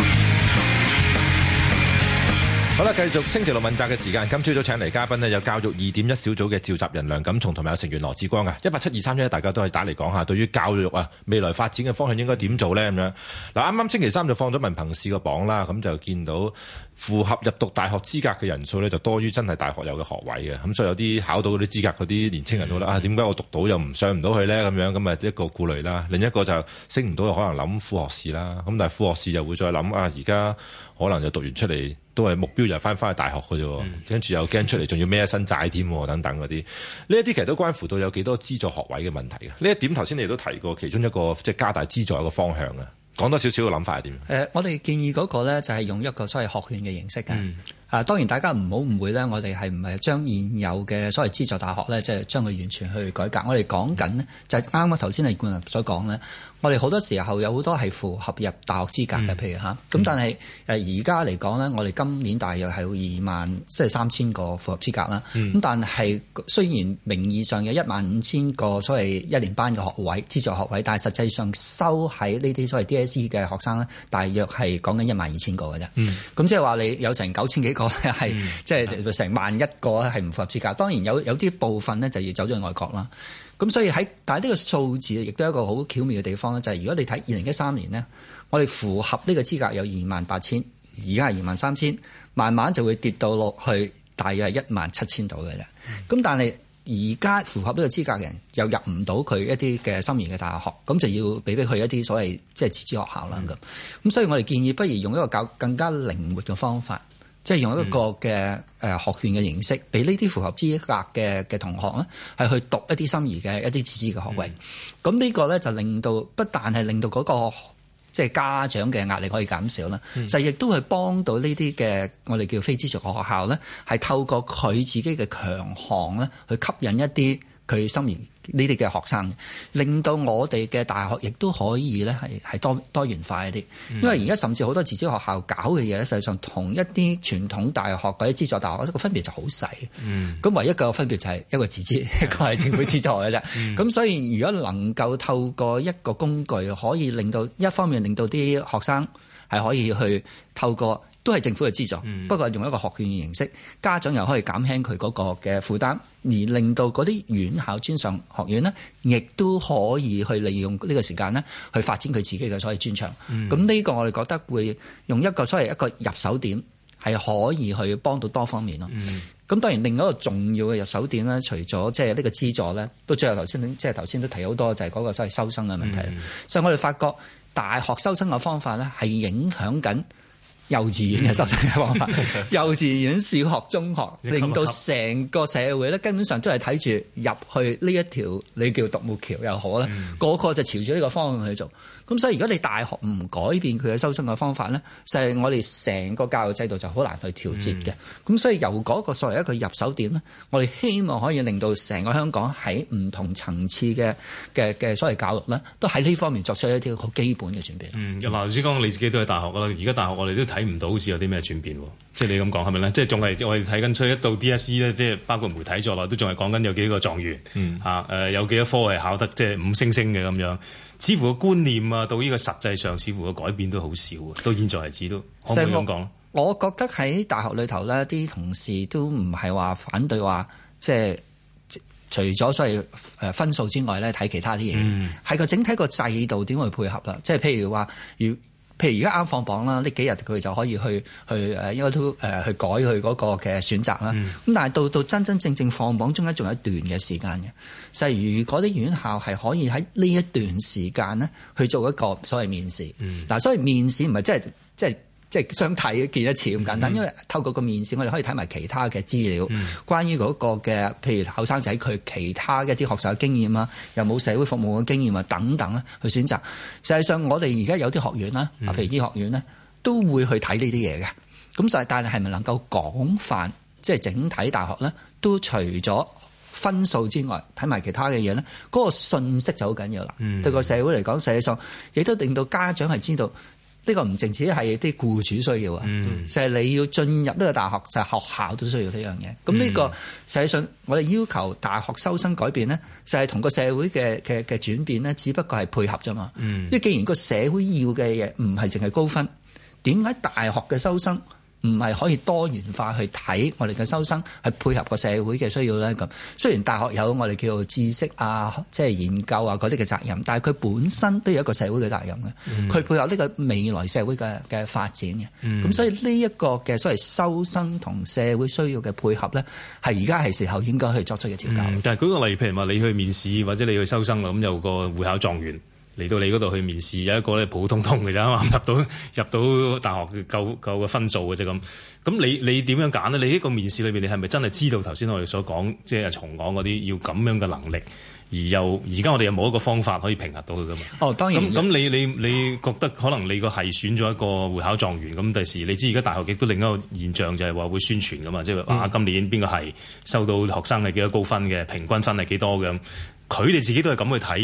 好啦，繼續星期六問責嘅時間。今朝早請嚟嘉賓呢，有教育2.1小組嘅召集人梁錦松同埋有成員羅致光啊。1872311，大家都可以打嚟講下，對於教育啊未來發展嘅方向應該點做呢？咁樣嗱，啱啱星期三就放咗文憑試個榜啦，咁就見到符合入讀大學資格嘅人數呢，就多於真係大學有嘅學位嘅。咁所以有啲考到嗰啲資格嗰啲年青人都覺得點解我讀到又唔上唔到去呢？咁樣咁啊一個顧慮啦。另一個就升唔到，可能諗副學士啦。咁但係副學士又會再諗而家可能就讀完出嚟。都係目標又翻去大學嘅啫，跟住又驚出嚟仲要孭一身債添，等等嗰啲。呢一啲其實都關乎到有幾多資助學位嘅問題嘅。呢一點頭先你都提過，其中一個即係加大資助一個方向嘅。講多少少嘅諗法係點？ 我哋建議嗰個咧就係用一個所謂學券嘅形式嘅。當然大家唔好誤會咧，我哋係唔係將現有嘅所謂資助大學咧，即係將佢完全去改革？我哋講緊呢，就係啱啱頭先李冠霖所講咧，我哋好多時候有好多係符合入大學資格嘅，譬如咁但係而家嚟講咧，我哋今年大約係有23,000個符合資格啦。咁但係雖然名義上有15,000個所謂一年班嘅學位資助學位，但係實際上收喺呢啲所謂 DSE 嘅學生咧，大約係講緊12,000個嘅啫。咁即係話你有成9,000幾個咧係即係成11000個係唔符合資格。當然有啲部分咧就要走咗去外國啦。咁所以但係呢個數字亦都有一個好巧妙嘅地方咧，就係如果你睇2013年呢，我哋符合呢個資格有28000，而家係23000，慢慢就會跌到落去大約係17000度嘅啫。咁但係而家符合呢個資格嘅人又入唔到佢一啲嘅心儀嘅大學，咁就要俾佢一啲所謂即係自資學校啦咁。所以我哋建議不如用一個更加靈活嘅方法，即係用一個嘅學券嘅形式，俾呢啲符合資格嘅同學咧，係去讀一啲心儀嘅一啲自資嘅學位。咁呢個咧就令到不但係令到嗰個即係家長嘅壓力可以減少啦，就亦都係幫到呢啲嘅我哋叫非資助學校咧，係透過佢自己嘅強項咧，去吸引一啲佢心儀呢啲嘅學生，令到我哋嘅大學亦都可以咧係多元化一啲。因為而家甚至好多自資學校搞嘅嘢咧，實際上同一啲傳統大學或者資助大學個分別就好細。咁唯一嘅分別就係一個自資，一個係政府資助嘅啫。咁所以如果能夠透過一個工具，可以令到一方面令到啲學生係可以去透過都係政府嘅資助，不過用一個學券嘅形式，家長又可以減輕佢嗰個嘅負擔，而令到嗰啲院校專上學院呢，亦都可以去利用呢個時間呢，去發展佢自己嘅所謂專長。咁呢個我哋覺得會用一個所謂一個入手點，係可以去幫到多方面咯。咁當然另一個重要嘅入手點咧，除咗即係呢個資助咧，都最後頭先都提好多，就係嗰個所謂收生嘅問題。所以我哋發覺大學收生嘅方法咧，係影響緊幼稚園嘅收生嘅方法，幼稚園、小學、中學，令到成個社會咧，根本上都係睇住入去呢一條你叫獨木橋又好啦，個個就朝住呢個方向去做。咁所以如果你大學唔改變佢嘅收生嘅方法咧，就係我哋成個教育制度就好難去調節嘅。咁所以由嗰個作為一個入手點咧，我哋希望可以令到成個香港喺唔同層次嘅所謂教育咧，都喺呢方面作出一啲好基本嘅轉變。 嗱，頭先講你自己都係大學㗎啦，而家大學我哋都睇唔到好似有啲咩轉變喎。即係你咁講係咪咧？即係仲係我哋睇緊出一到 DSE 咧，即係包括媒體在內都仲係講緊有幾個狀元有幾多科係考得即係5星星嘅咁樣。似乎個觀念啊，到呢個實際上，似乎個改變都好少啊。到現在為止都可唔可以咁講？ 我覺得喺大學裏頭咧，啲同事都唔係話反對話，即係除咗所謂分數之外咧，睇其他啲嘢，係個整體個制度點去配合啦。即係譬如話，譬如而家啱放榜啦，呢幾日佢就可以去應該都去改佢嗰個嘅選擇啦。咁但係到真正放榜中間仲有一段嘅時間嘅，就係如果啲院校係可以喺呢一段時間咧去做一個所謂面試。嗱，所謂面試唔係即係相睇見一次咁簡單，因為透過個面試，我哋可以睇埋其他嘅資料，關於嗰個嘅譬如後生仔佢其他嘅一啲學習嘅經驗啊，有冇社會服務嘅經驗啊等等咧，去選擇。實際上，我哋而家有啲學院啦，譬如醫學院咧，都會去睇呢啲嘢嘅。咁但係咪能夠廣泛，即係整體大學咧，都除咗分數之外，睇埋其他嘅嘢咧，嗰個信息就好緊要啦。對個社會嚟講，實際上亦都令到家長係知道。呢個唔淨止係啲僱主需要啊，就係你要進入呢個大學，就係學校都需要呢樣嘢。咁呢個實際上我哋要求大學收生改變咧，就係同個社會嘅轉變咧，只不過係配合啫嘛。因為既然個社會要嘅嘢唔係淨係高分，點解大學嘅收生唔係可以多元化去睇我哋嘅收生，係配合個社會嘅需要咧？咁雖然大學有我哋叫做知識啊，即係研究啊嗰啲嘅責任，但係佢本身都有一個社會嘅責任嘅。佢配合呢個未來社會嘅發展嘅。咁所以呢一個嘅所謂收生同社會需要嘅配合咧，係而家係時候應該去作出嘅調教。 但係舉個例，譬如話你去面試或者你去收生啦，咁有個會考狀元嚟到你嗰度去面試，有一個咧普普通通嘅啫嘛，入到大學夠嘅分數嘅啫咁。咁你點樣揀呢？你呢個面試裏邊，你係咪真係知道頭先我哋所講，即係重講嗰啲要咁樣嘅能力，而家我哋有冇一個方法可以評核到佢噶嘛？哦，當然。咁你覺得可能你個係選咗一個會考狀元，咁第時你知而家大學亦都另一個現象就係話會宣傳噶嘛，即係話今年邊個係收到學生係幾多高分嘅，平均分係幾多嘅，佢哋自己都係咁去睇。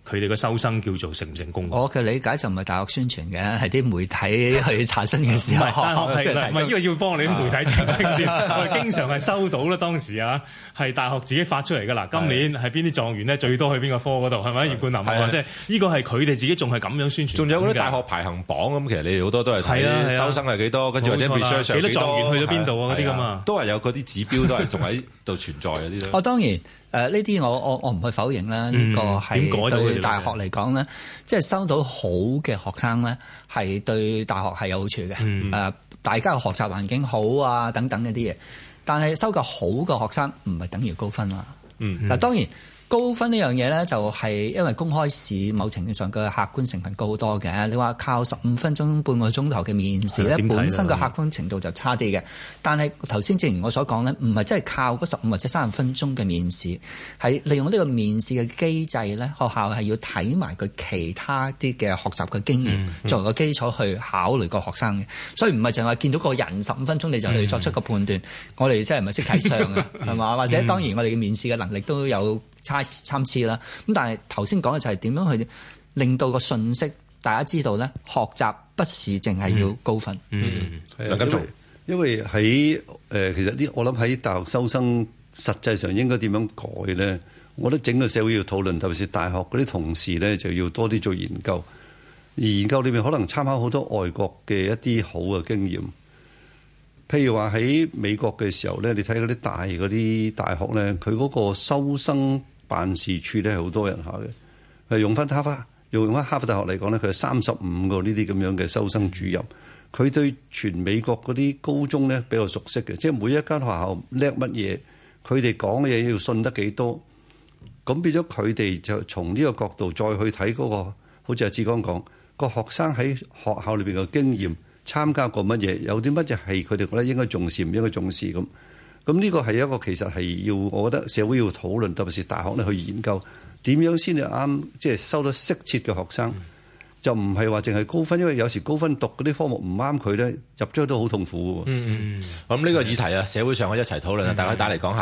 佢哋嘅收生叫做成唔成功？ 我嘅理解就唔係大學宣傳嘅，係啲媒體去查詢嘅時候。 唔係大學係唔係呢個要幫你啲媒體澄清先？我哋經常係收到啦，當時啊係大學自己發出嚟㗎啦。今年係邊啲狀元咧最多去邊個科嗰度係咪？葉冠霖話即係呢個係佢哋自己仲係咁樣宣傳。 仲有嗰啲大學排行榜咁，其實你哋好多都係睇收生係幾多，跟住或者 research 幾多狀元去咗邊度啊嗰啲㗎嘛， 都係有嗰啲指標都係仲喺度存在嗰啲咯。 當然。呢啲我唔去否認啦，呢個係對大學嚟講咧，即係收到好嘅學生咧，係對大學係有好處嘅。大家嘅學習環境好啊，等等一啲嘢。但係收夠好嘅學生唔係等於高分啦。嗱，當然高分呢樣嘢咧，就係因為公開試某程度上嘅客觀成分高好多嘅。你話靠15分鐘半個鐘頭嘅面試咧，本身嘅客觀程度就差啲嘅。但係頭先正如我所講咧，唔係真係靠嗰15或者30分鐘嘅面試，係利用呢個面試嘅機制咧，學校係要睇埋佢其他啲嘅學習嘅經驗作為個基礎去考慮個學生嘅。所以唔係淨係話見到個人15分鐘你就去作出個判斷。我哋真係唔係識睇相嘅，係嘛？或者當然我哋嘅面試嘅能力都有參差啦，咁但係頭先講嘅就係點樣去令到個信息大家知道咧，學習不是淨係要高分。 梁錦松， 因為喺其實我諗喺大學收生實際上應該點樣改咧？我覺得整個社會要討論，特別是大學嗰啲同事咧，就要多啲做研究。而研究裏面可能參考好多外國嘅一啲好嘅經驗，譬如話喺美國嘅時候咧，你睇嗰啲大學咧，佢嗰個收生辦事處咧係好多人下嘅。用翻哈佛大學嚟講咧，佢係35個呢啲咁樣嘅收生主任。佢對全美國嗰啲高中咧比較熟悉嘅，即係每一間學校叻乜嘢，佢哋講嘅嘢要信得幾多。咁變咗佢哋就從呢個角度再去睇嗰個，好似阿志剛講，個學生喺學校裏邊嘅經驗，參加過乜嘢，有啲乜嘢係佢哋覺得應該重視，唔應該重視咁。咁呢個係一個其實係要，我覺得社會要討論，特別是大學咧去研究點樣先至啱，即係收到適切嘅學生，就唔係話淨係高分，因為有時高分讀嗰啲科目唔啱佢咧，入咗都好痛苦喎。 咁呢個議題啊，社會上可以一齊討論啊，大家可以打嚟講下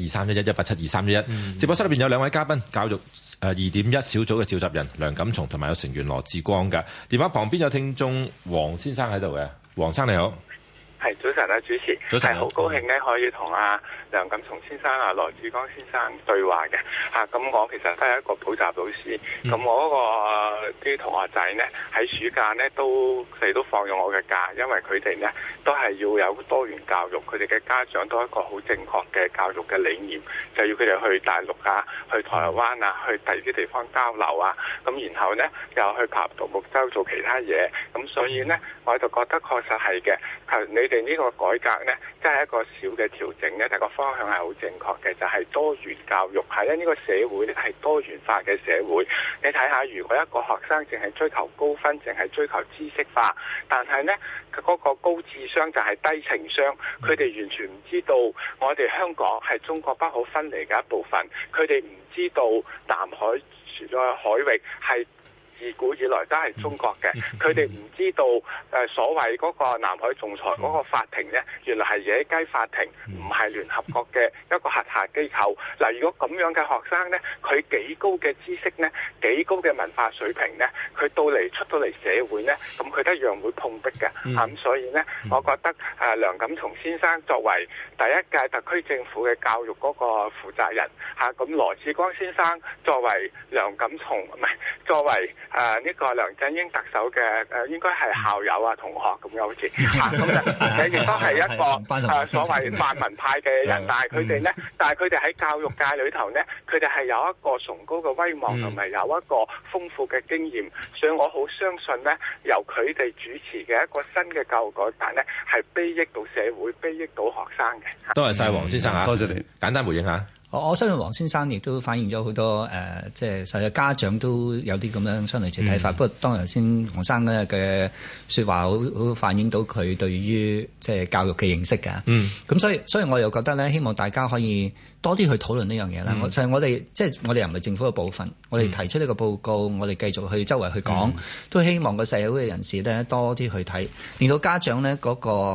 1872311，1872311。直播室裏邊有兩位嘉賓，教育2.1小組嘅召集人梁錦松同埋有成員羅致光嘅。電話旁邊有聽眾黃先生喺度嘅，黃生你好。 係早晨啊，主持，係好高興咧可以同梁錦松先生羅致光先生對話嘅咁我其實都係一個補習老師，咁我嗰個啲同學仔呢，喺暑假呢都放咗我嘅假，因為佢哋呢都係要有多元教育，佢哋嘅家長都係一個好正確嘅教育嘅理念，就要佢哋去大陸啊，去台灣啊，去第二啲地方交流啊，咁然後呢又去爬獨木舟做其他嘢，咁所以呢，我就覺得確實係嘅，你哋呢個改革呢，真係一個小嘅調整呢，但個方向係好正確嘅，就係多元教育。係因為呢個社會呢係多元化嘅社會。你睇下，如果一個學生淨係追求高分，淨係追求知識化，但係呢嗰個高智商就係低情商，佢哋完全唔知道我哋香港係中國不可分離嘅一部分，佢哋唔知道南海海域係自古以來都係中國嘅，佢哋唔知道所謂嗰個南海仲裁嗰個法庭呢，原來係野雞法庭，唔係聯合國嘅一個轄下機構。嗱，如果咁樣嘅學生呢，佢幾高嘅知識呢，幾高嘅文化水平呢，佢出到嚟社會呢，咁佢都一樣會碰壁嘅。咁所以呢，我覺得梁錦松先生作為第一屆特區政府嘅教育嗰個負責人咁羅致光先生作為梁錦松作為呢個梁振英特首嘅應該係校友同學咁樣好似咁亦都係一個所謂泛民派嘅人，但係佢哋喺教育界裏頭呢，佢哋係有一個崇高嘅威望同埋有一個豐富嘅經驗，所以我好相信呢，由佢哋主持嘅一個新嘅教育改革呢，係裨益到社會、裨益到學生嘅。 多謝晒黃先生， 多謝你。 簡單回應下。 我相信黃先生亦都反映咗好多即係實際家長都有啲咁樣相類似睇法。不過當然頭先黃生咧嘅説話好反映到佢對於即係教育嘅認識㗎。咁所以我又覺得咧，希望大家可以多啲去討論呢樣嘢啦。就係我哋即係我哋又唔係政府嘅部分，我哋提出呢個報告，我哋繼續去周圍去講，都希望個社會嘅人士咧多啲去睇，令到家長咧嗰個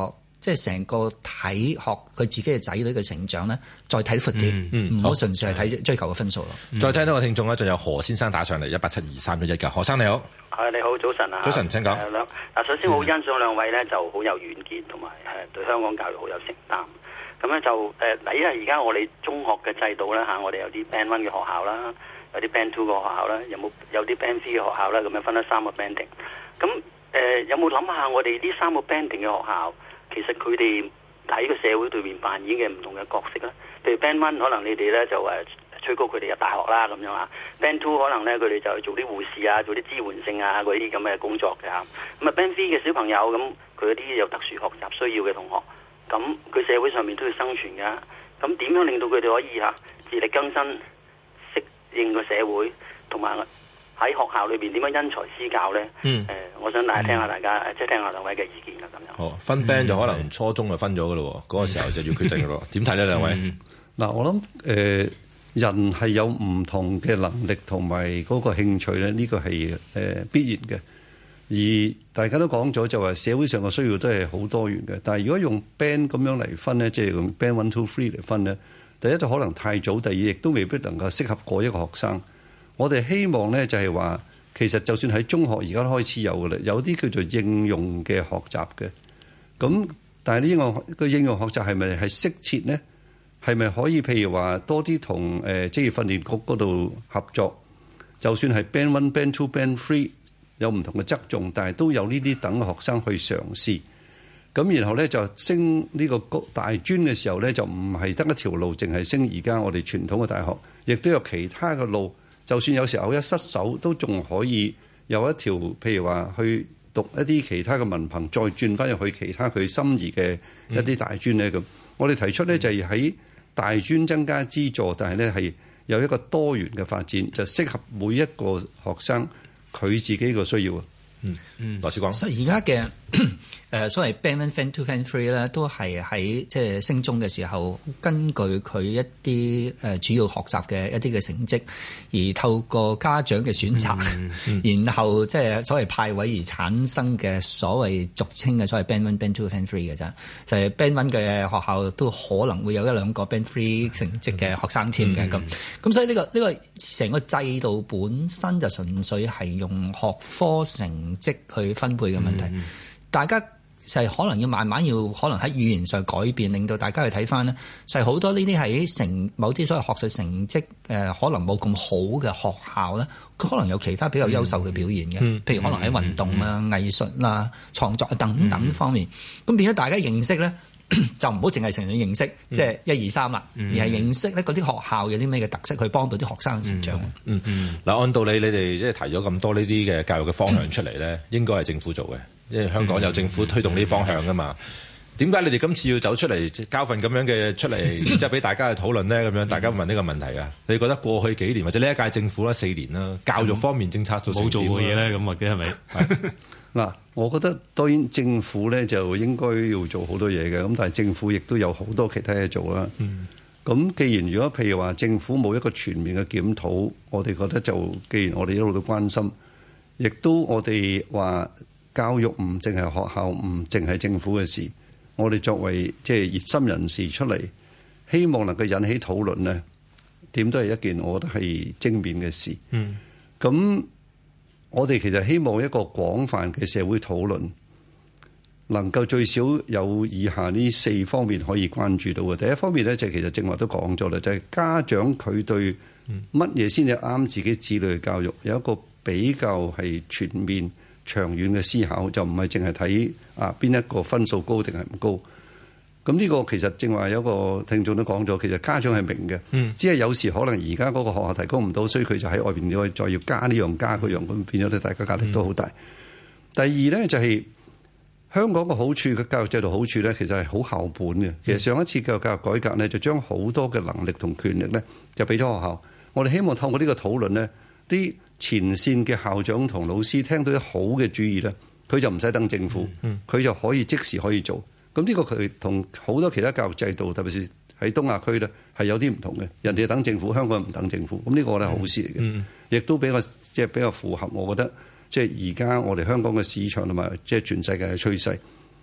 即係成個睇學佢自己嘅仔女嘅成長咧，再睇闊啲，唔好純粹係睇追求嘅分數咯。 再聽到個聽眾咧，仲有何先生打上嚟1872311嘅，何生你好。 你好，早晨啊！ 早晨，請講。 首先我好欣賞兩位咧，就好有遠見，同埋對香港教育好有承擔。咁咧就因為而家我哋中學嘅制度咧我哋有啲 Band 1嘅學校啦，有啲 Band 2嘅學校啦，有啲 Band 3嘅學校啦，咁樣分咗3個 banding。咁有冇諗下我哋呢3個 banding 嘅學校，其實佢哋喺個社會對面扮演嘅唔同嘅角色咧？譬如 Band 1可能你哋咧就催谷佢哋入大學啦咁樣啊。Band 2可能咧佢哋就做啲護士啊，做啲支援性啊嗰啲咁嘅工作嘅嚇。咁啊 Band 3嘅小朋友咁，佢有啲有特殊學習需要嘅同學，咁佢社會上面都要生存㗎。咁點樣令到佢哋可以自力更生，適應個社會，同埋喺學校裏邊點樣因材施教咧？我想大家聽下即係聽下兩位嘅意見啦咁樣。 好，分 band 就可能初中就分咗㗎咯，嗰個時候就要決定㗎咯。點睇呢兩位？ 嗱，我諗人係有唔同嘅能力同埋嗰個興趣咧，呢個係必然嘅。而大家都講咗就話社會上嘅需要都係好多元嘅。但係如果用 band 咁樣嚟分咧，即係用 band 1、2、3嚟分咧，第一就可能太早，第二亦都未必能夠適合嗰一個學生。我哋希望咧就係話，其實就算喺中學而家開始有嘅啦，有啲叫做應用嘅學習嘅。咁但係呢個應用學習係咪係適切呢？係咪可以譬如話多啲同職業訓練局嗰度合作？就算係 Band 1、Band 2、Band 3有唔同嘅側重，但係都有呢啲等學生去嘗試。咁然後咧就升呢個大專嘅時候咧，就唔係得一條路，淨係升而家我哋傳統嘅大學，亦都有其他嘅路。就算有時候一失手，都仲可以有一條，譬如話去讀一啲其他嘅文憑，再轉翻入去其他佢心儀嘅一啲大專咧咁。我哋提出咧就係喺大專增加資助，但係咧係有一個多元嘅發展，就適合每一個學生佢自己個需要啊。 羅致光。 所以而家嘅所謂 Band 1、Band 2、Band 3咧，都係喺即係升中嘅時候，根據佢一啲主要學習嘅一啲嘅成績，而透過家長嘅選擇，然後即係所謂派位而產生嘅所謂俗稱嘅所謂 Band 1、Band 2、Band 3嘅啫。就係 Band 1嘅學校都可能會有1-2個 Band 3成績嘅學生添嘅咁。咁所以呢個成個制度本身就純粹係用學科成績去分配嘅問題。大家就係可能要慢慢可能喺語言上改變，令到大家去睇翻呢就係好多呢啲喺某啲所謂學術成績可能冇咁好嘅學校咧，佢可能有其他比較優秀嘅表現嘅，譬如可能喺運動啦、藝術啦、創作等等方面，咁變咗大家認識咧，就唔好淨係成日認識即係1、2、3啦，而係認識咧嗰啲學校有啲咩嘅特色，去幫到啲學生嘅成長。 嗱，按道理你哋即係提咗咁多呢啲嘅教育嘅方向出嚟咧，應該係政府做嘅。因為香港有政府推動呢啲方向噶嘛，點解你哋今次要走出嚟交份咁樣嘅出嚟，即係俾大家去討論呢？咁樣大家問呢個問題啊？你覺得過去幾年或者呢一屆政府啦4年啦，教育方面政策做冇做過嘢咧？咁或者係咪？ 嗱，我覺得當然政府咧就應該要做好多嘢嘅，咁但係政府亦都有好多其他嘢做啦。咁既然如果譬如話政府冇一個全面嘅檢討，我哋覺得就既然我哋一路都關心，亦都我哋話。教育唔淨係學校，唔淨係政府嘅事。我哋作為即係熱心人士出嚟，希望能夠引起討論呢，點都係一件我覺得係正面嘅事。咁我哋其實希望一個廣泛嘅社會討論，能夠最少有以下呢4方面可以關注到嘅。第一方面呢，就其實正話都講咗啦，就係家長佢對乜嘢先至啱自己子女嘅教育，有一個比較係全面長遠嘅思考，就唔係淨係睇邊一個分數高定係唔高。咁呢個其實正話有個聽眾都講咗，其實家長係明嘅，只係有時可能而家嗰個學校提供唔到，所以佢就喺外邊再要加呢樣加嗰樣，咁變咗咧大家壓力都好大。第二咧就係香港個好處嘅教育制度好處咧，其實係好校本嘅。其實上一次教育改革咧，就將好多嘅能力同權力咧，就俾咗學校。我哋希望透過呢個討論呢，啲前線嘅校長同老師聽到啲好嘅主意咧，佢就唔使等政府，佢就可以即時可以做。咁呢個佢同好多其他教育制度，特別是喺東亞區咧，係有啲唔同嘅。人哋等政府，香港唔等政府。咁呢個咧係好事嚟嘅，亦都比較符合我覺得即係而家我哋香港嘅市場同埋即係全世界嘅趨勢。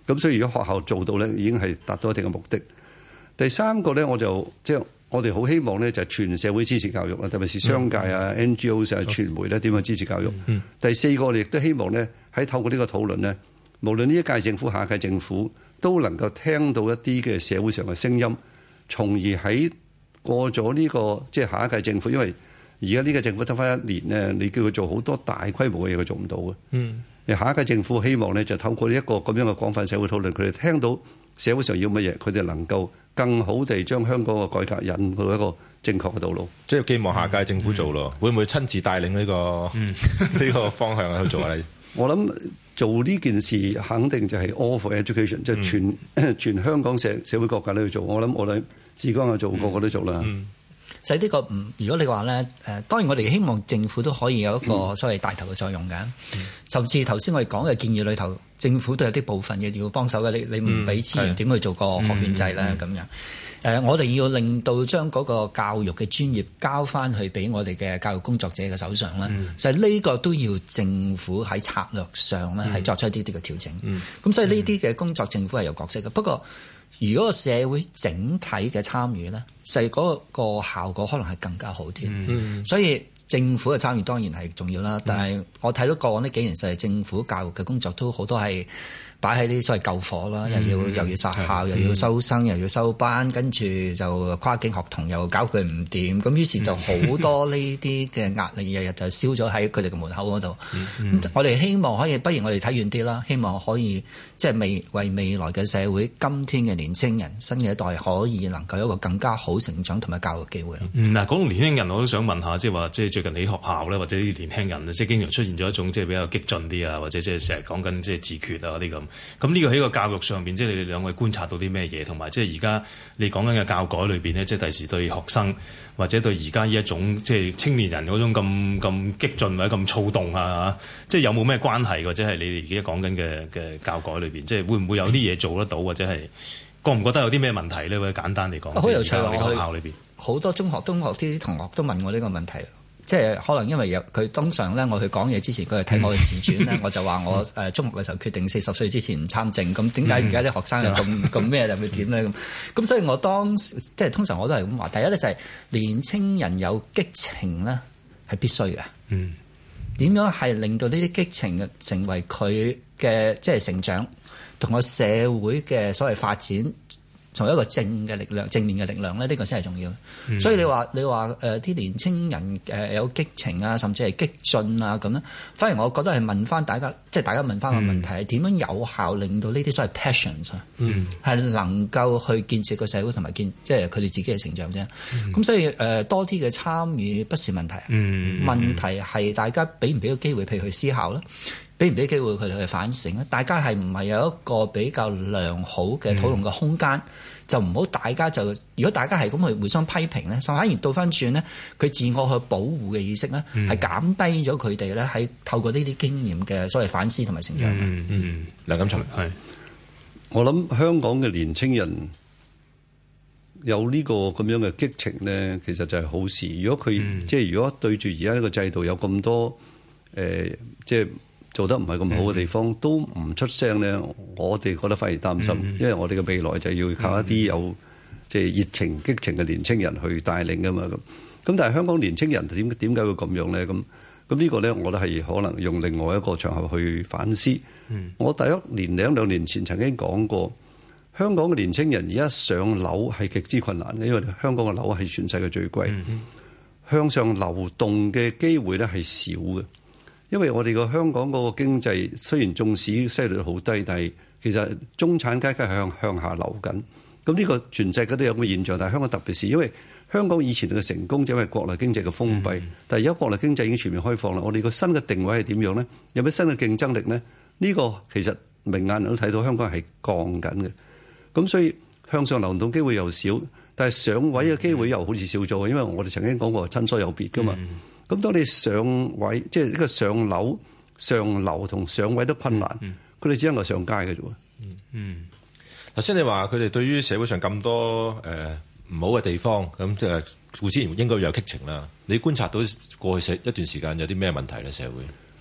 咁所以如果學校做到咧，已經係達到一定嘅目的。第三個咧，我哋好希望咧，就係全社會支持教育啦，特別是商界啊、NGOs 啊、傳媒咧點樣支持教育。第四個，我哋亦都希望咧，喺透過呢個討論咧，無論呢一屆政府、下一屆政府，都能夠聽到一啲嘅社會上嘅聲音，從而喺過咗呢個即係下一屆政府，因為而家呢個政府得翻1年咧，你叫佢做好多大規模嘅嘢，佢做唔到嘅。下一屆政府希望咧，就透過呢一個咁樣嘅廣泛社會討論，佢哋聽到社會上要乜嘢，佢哋能夠更好地將香港嘅改革引到一個正確嘅道路。 即係寄望下屆政府做咯，會唔會親自帶領呢個個方向去做啊？ 我諗做呢件事肯定就係 all for education，即係全香港社會各界都要做。我諗志剛有做，個個都做啦。 所以呢個如果你話咧，當然我哋希望政府都可以有一個所謂帶頭嘅作用嘅。甚至頭先我哋講嘅建議裏頭，政府都有啲部分嘅要幫手嘅。你唔俾資源點去做個學券制咧？咁樣我哋要令到將嗰個教育嘅專業交翻去俾我哋嘅教育工作者嘅手上咧。就係呢個都要政府喺策略上咧係作出一啲啲嘅調整。咁所以呢啲嘅工作政府係有角色嘅。不過如果個社會整體嘅參與咧，係嗰個效果可能係更加好啲。所以政府嘅參與當然係重要啦。但係我睇到過往呢幾年實係政府教育嘅工作都好多係擺喺啲所謂救火啦，又要殺校，又要收生，又要收班，跟住就跨境學童又搞佢唔掂，咁於是就好多呢啲嘅壓力，日日就燒咗喺佢哋嘅門口嗰度。我哋希望可以，不如我哋睇遠啲啦，希望可以即係為未來嘅社會，今天嘅年青人、新嘅一代可以能夠有一個更加好成長同埋教育機會。 嗱，講到年輕人，我都想問下，即係話即係最近喺學校咧，或者啲年輕人即係經常出現咗一種即係比較激進啲啊，或者即係成日講緊即係自決啊嗰啲咁。咁呢個喺個教育上邊，即係你哋兩位觀察到啲咩嘢？同埋即係而家你講緊嘅教改裏邊呢，即係第時對學生或者對而家呢一種即係青年人嗰種咁激進或者咁躁動啊，即係有冇咩關係？或者係你哋而家講緊嘅教改裏邊，即係會唔會有啲嘢做得到，或者係覺唔覺得有啲咩問題呢？或者簡單嚟講， 好有趣啊！ 學校裏邊好多中學啲同學都問我呢個問題。即係可能因為佢通常咧，我去講嘢之前，佢係睇我嘅自傳咧，我就話我中學嘅時候決定40歲之前唔參政。咁點解而家啲學生又咁咩就會點咧？咁所以我當時即係通常我都係咁話。第一咧就係年青人有激情咧係必須嘅。點樣係令到呢啲激情成為佢嘅即係成長同個社會嘅所謂發展，從一個正面嘅力量咧，呢個先係重要。所以你話啲年青人有激情啊，甚至係激進啊咁咧，反而我覺得係問翻大家，即係大家問翻個問題係點樣有效令到呢啲所謂 passions 啊，係能夠去建設個社會同埋即係佢哋自己嘅成長啫。咁所以多啲嘅參與不是問題，問題係大家俾唔俾個機會，譬如去思考啦。俾唔俾機會佢哋去反省咧？大家係唔係有一個比較良好嘅討論嘅空間？就唔好大家就如果大家係咁去互相批評咧，反而倒翻轉咧，佢自我去保護嘅意識咧，係減低咗佢哋咧喺透過呢啲經驗嘅所謂反思同埋成長。 梁錦祥係， 我諗香港嘅年青人有呢個咁樣嘅激情咧，其實就係好事。如果佢即係如果對住而家呢個制度有咁多即係做得唔係咁好嘅地方，都唔出聲咧，我哋覺得反而擔心，因為我哋嘅未來就要靠一啲有即係熱情、激情嘅年青人去帶領噶嘛。咁但係香港年青人點解會咁樣咧？咁呢個咧，我覺得係可能用另外一個場合去反思。我第一年兩年前曾經講過，香港嘅年青人而家上樓係極之困難嘅，因為香港嘅樓係全世界最貴，向上流動嘅機會咧係少嘅。因為我哋個香港嗰個經濟雖然縱使息率好低，但係其實中產階級係向下流緊。咁呢個全世界都有咁嘅現象，但係香港特別是因為香港以前嘅成功就因為國內經濟嘅封閉，但係而家國內經濟已經全面開放啦。我哋個新嘅定位係點樣咧？有咩新嘅競爭力咧？呢個其實明眼人都睇到香港係降緊嘅。咁所以向上流動機會又少，但係上位嘅機會又好似少咗，因為我哋曾經講過親疏有別噶嘛。咁當你上位，即係呢個上樓、上樓同上位都困難，佢哋只能夠上街嘅啫喎。 頭先你話佢哋對於社會上咁多唔好嘅地方，咁即係固然應該有激情啦。你觀察到過去一段時間有啲咩問題咧？社會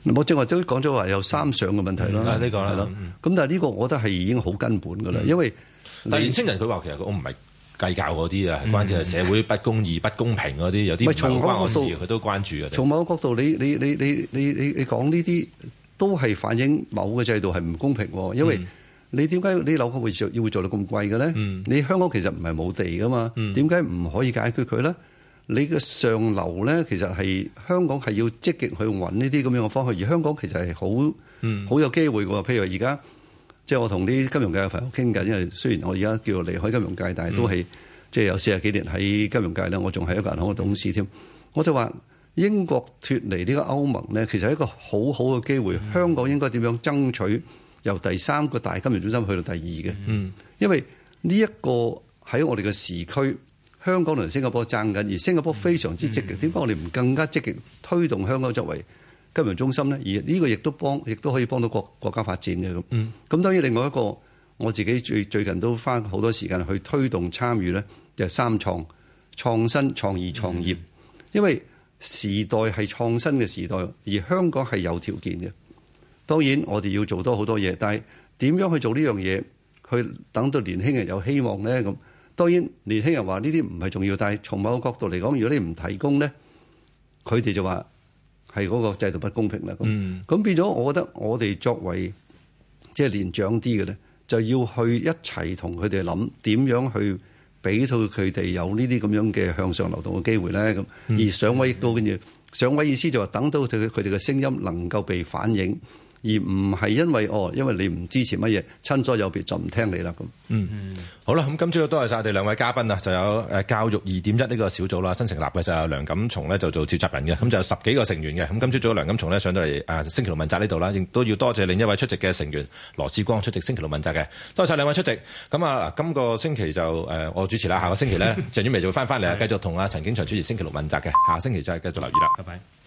我正話都講咗話有三上嘅問題啦， 呢個係咯。 咁但係呢個我覺得係已經好根本㗎啦，因為但係年青人佢話其實我唔係計較嗰啲啊，係關鍵係社會不公義、不公平嗰啲，有啲唔係好關我事，佢都關注嘅。 從某個角度，你講呢啲都係反映某個制度係唔公平喎，因為你點解你樓價會做到咁貴嘅咧？你香港其實唔係冇地㗎嘛，點解唔可以解決佢咧？你嘅上流咧，其實係香港係要積極去揾呢啲咁樣嘅方向，而香港其實係好有機會嘅。譬如而家即係我同啲金融界嘅朋友傾緊，因為雖然我而家叫離開金融界，但係都係即係有40幾年喺金融界咧，我仲係一個銀行嘅董事添。我就話英國脫離呢個歐盟咧，其實係一個好好嘅機會。香港應該點樣爭取由第3個大金融中心去到第2嘅？因為呢一個喺我哋嘅時區。香港同新加坡爭緊，而新加坡非常之積極。點解我哋唔更加積極推動香港作為金融中心咧？而呢個亦都可以幫到國家發展嘅咁。咁當然另外一個我自己最近都花好多時間去推動參與咧，就係3創：創新、創意、創業。因為時代係創新嘅時代，而香港係有條件嘅。當然我哋要做多好多嘢，但係點樣去做呢樣嘢，去等到年輕人有希望咧咁。當然，年輕人話呢啲唔係重要，但係從某個角度嚟講，如果你唔提供咧，佢哋就話係嗰個制度不公平啦。咁變咗，我覺得我哋作為即係年長啲嘅咧，就要去一齊同佢哋諗點樣去俾到佢哋有呢啲咁樣嘅向上流動嘅機會咧。咁而上位亦都跟住上位意思就話等到佢哋嘅聲音能夠被反映。而唔係因為你唔支持乜嘢，親疏有別就唔聽你啦咁。 好啦，咁今朝多謝晒我哋兩位嘉賓啊，就有教育2.1呢個小組啦，新成立嘅就有梁錦松咧就做召集人嘅，咁就有10幾個成員嘅。咁今朝早梁錦松咧上到嚟星期六問責呢度啦，亦都要多謝另一位出席嘅成員羅致光出席星期六問責嘅，多謝晒兩位出席。咁啊，今個星期就我主持啦，下個星期咧鄭婉薇就會翻嚟啊，繼續同阿陳景祥主持星期六問責嘅，下星期就係繼續留意啦，拜拜。